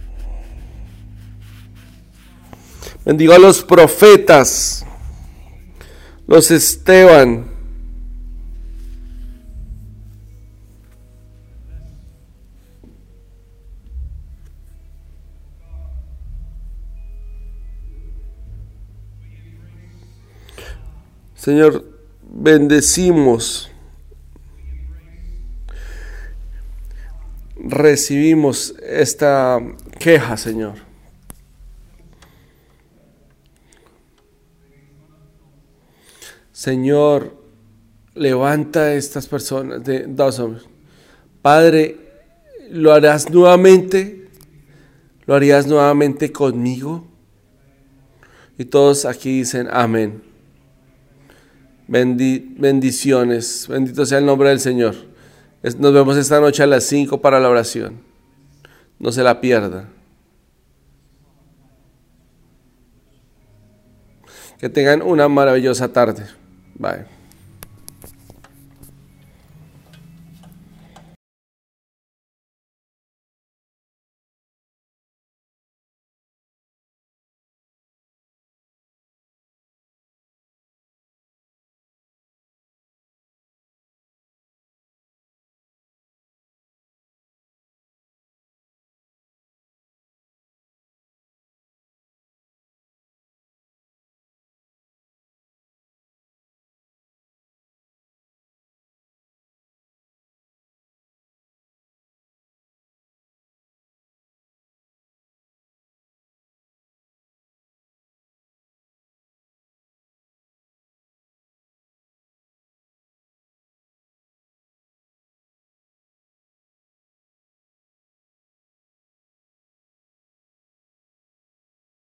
Bendigo a los profetas, los Esteban. Señor, bendecimos, recibimos esta queja, Señor. Señor, levanta a estas personas de dos hombres. Padre, ¿lo harás nuevamente? ¿Lo harías nuevamente conmigo? Y todos aquí dicen amén. Bendi- bendiciones, bendito sea el nombre del Señor. Es, nos vemos esta noche a las cinco para la oración. No se la pierda. Que tengan una maravillosa tarde. Bye.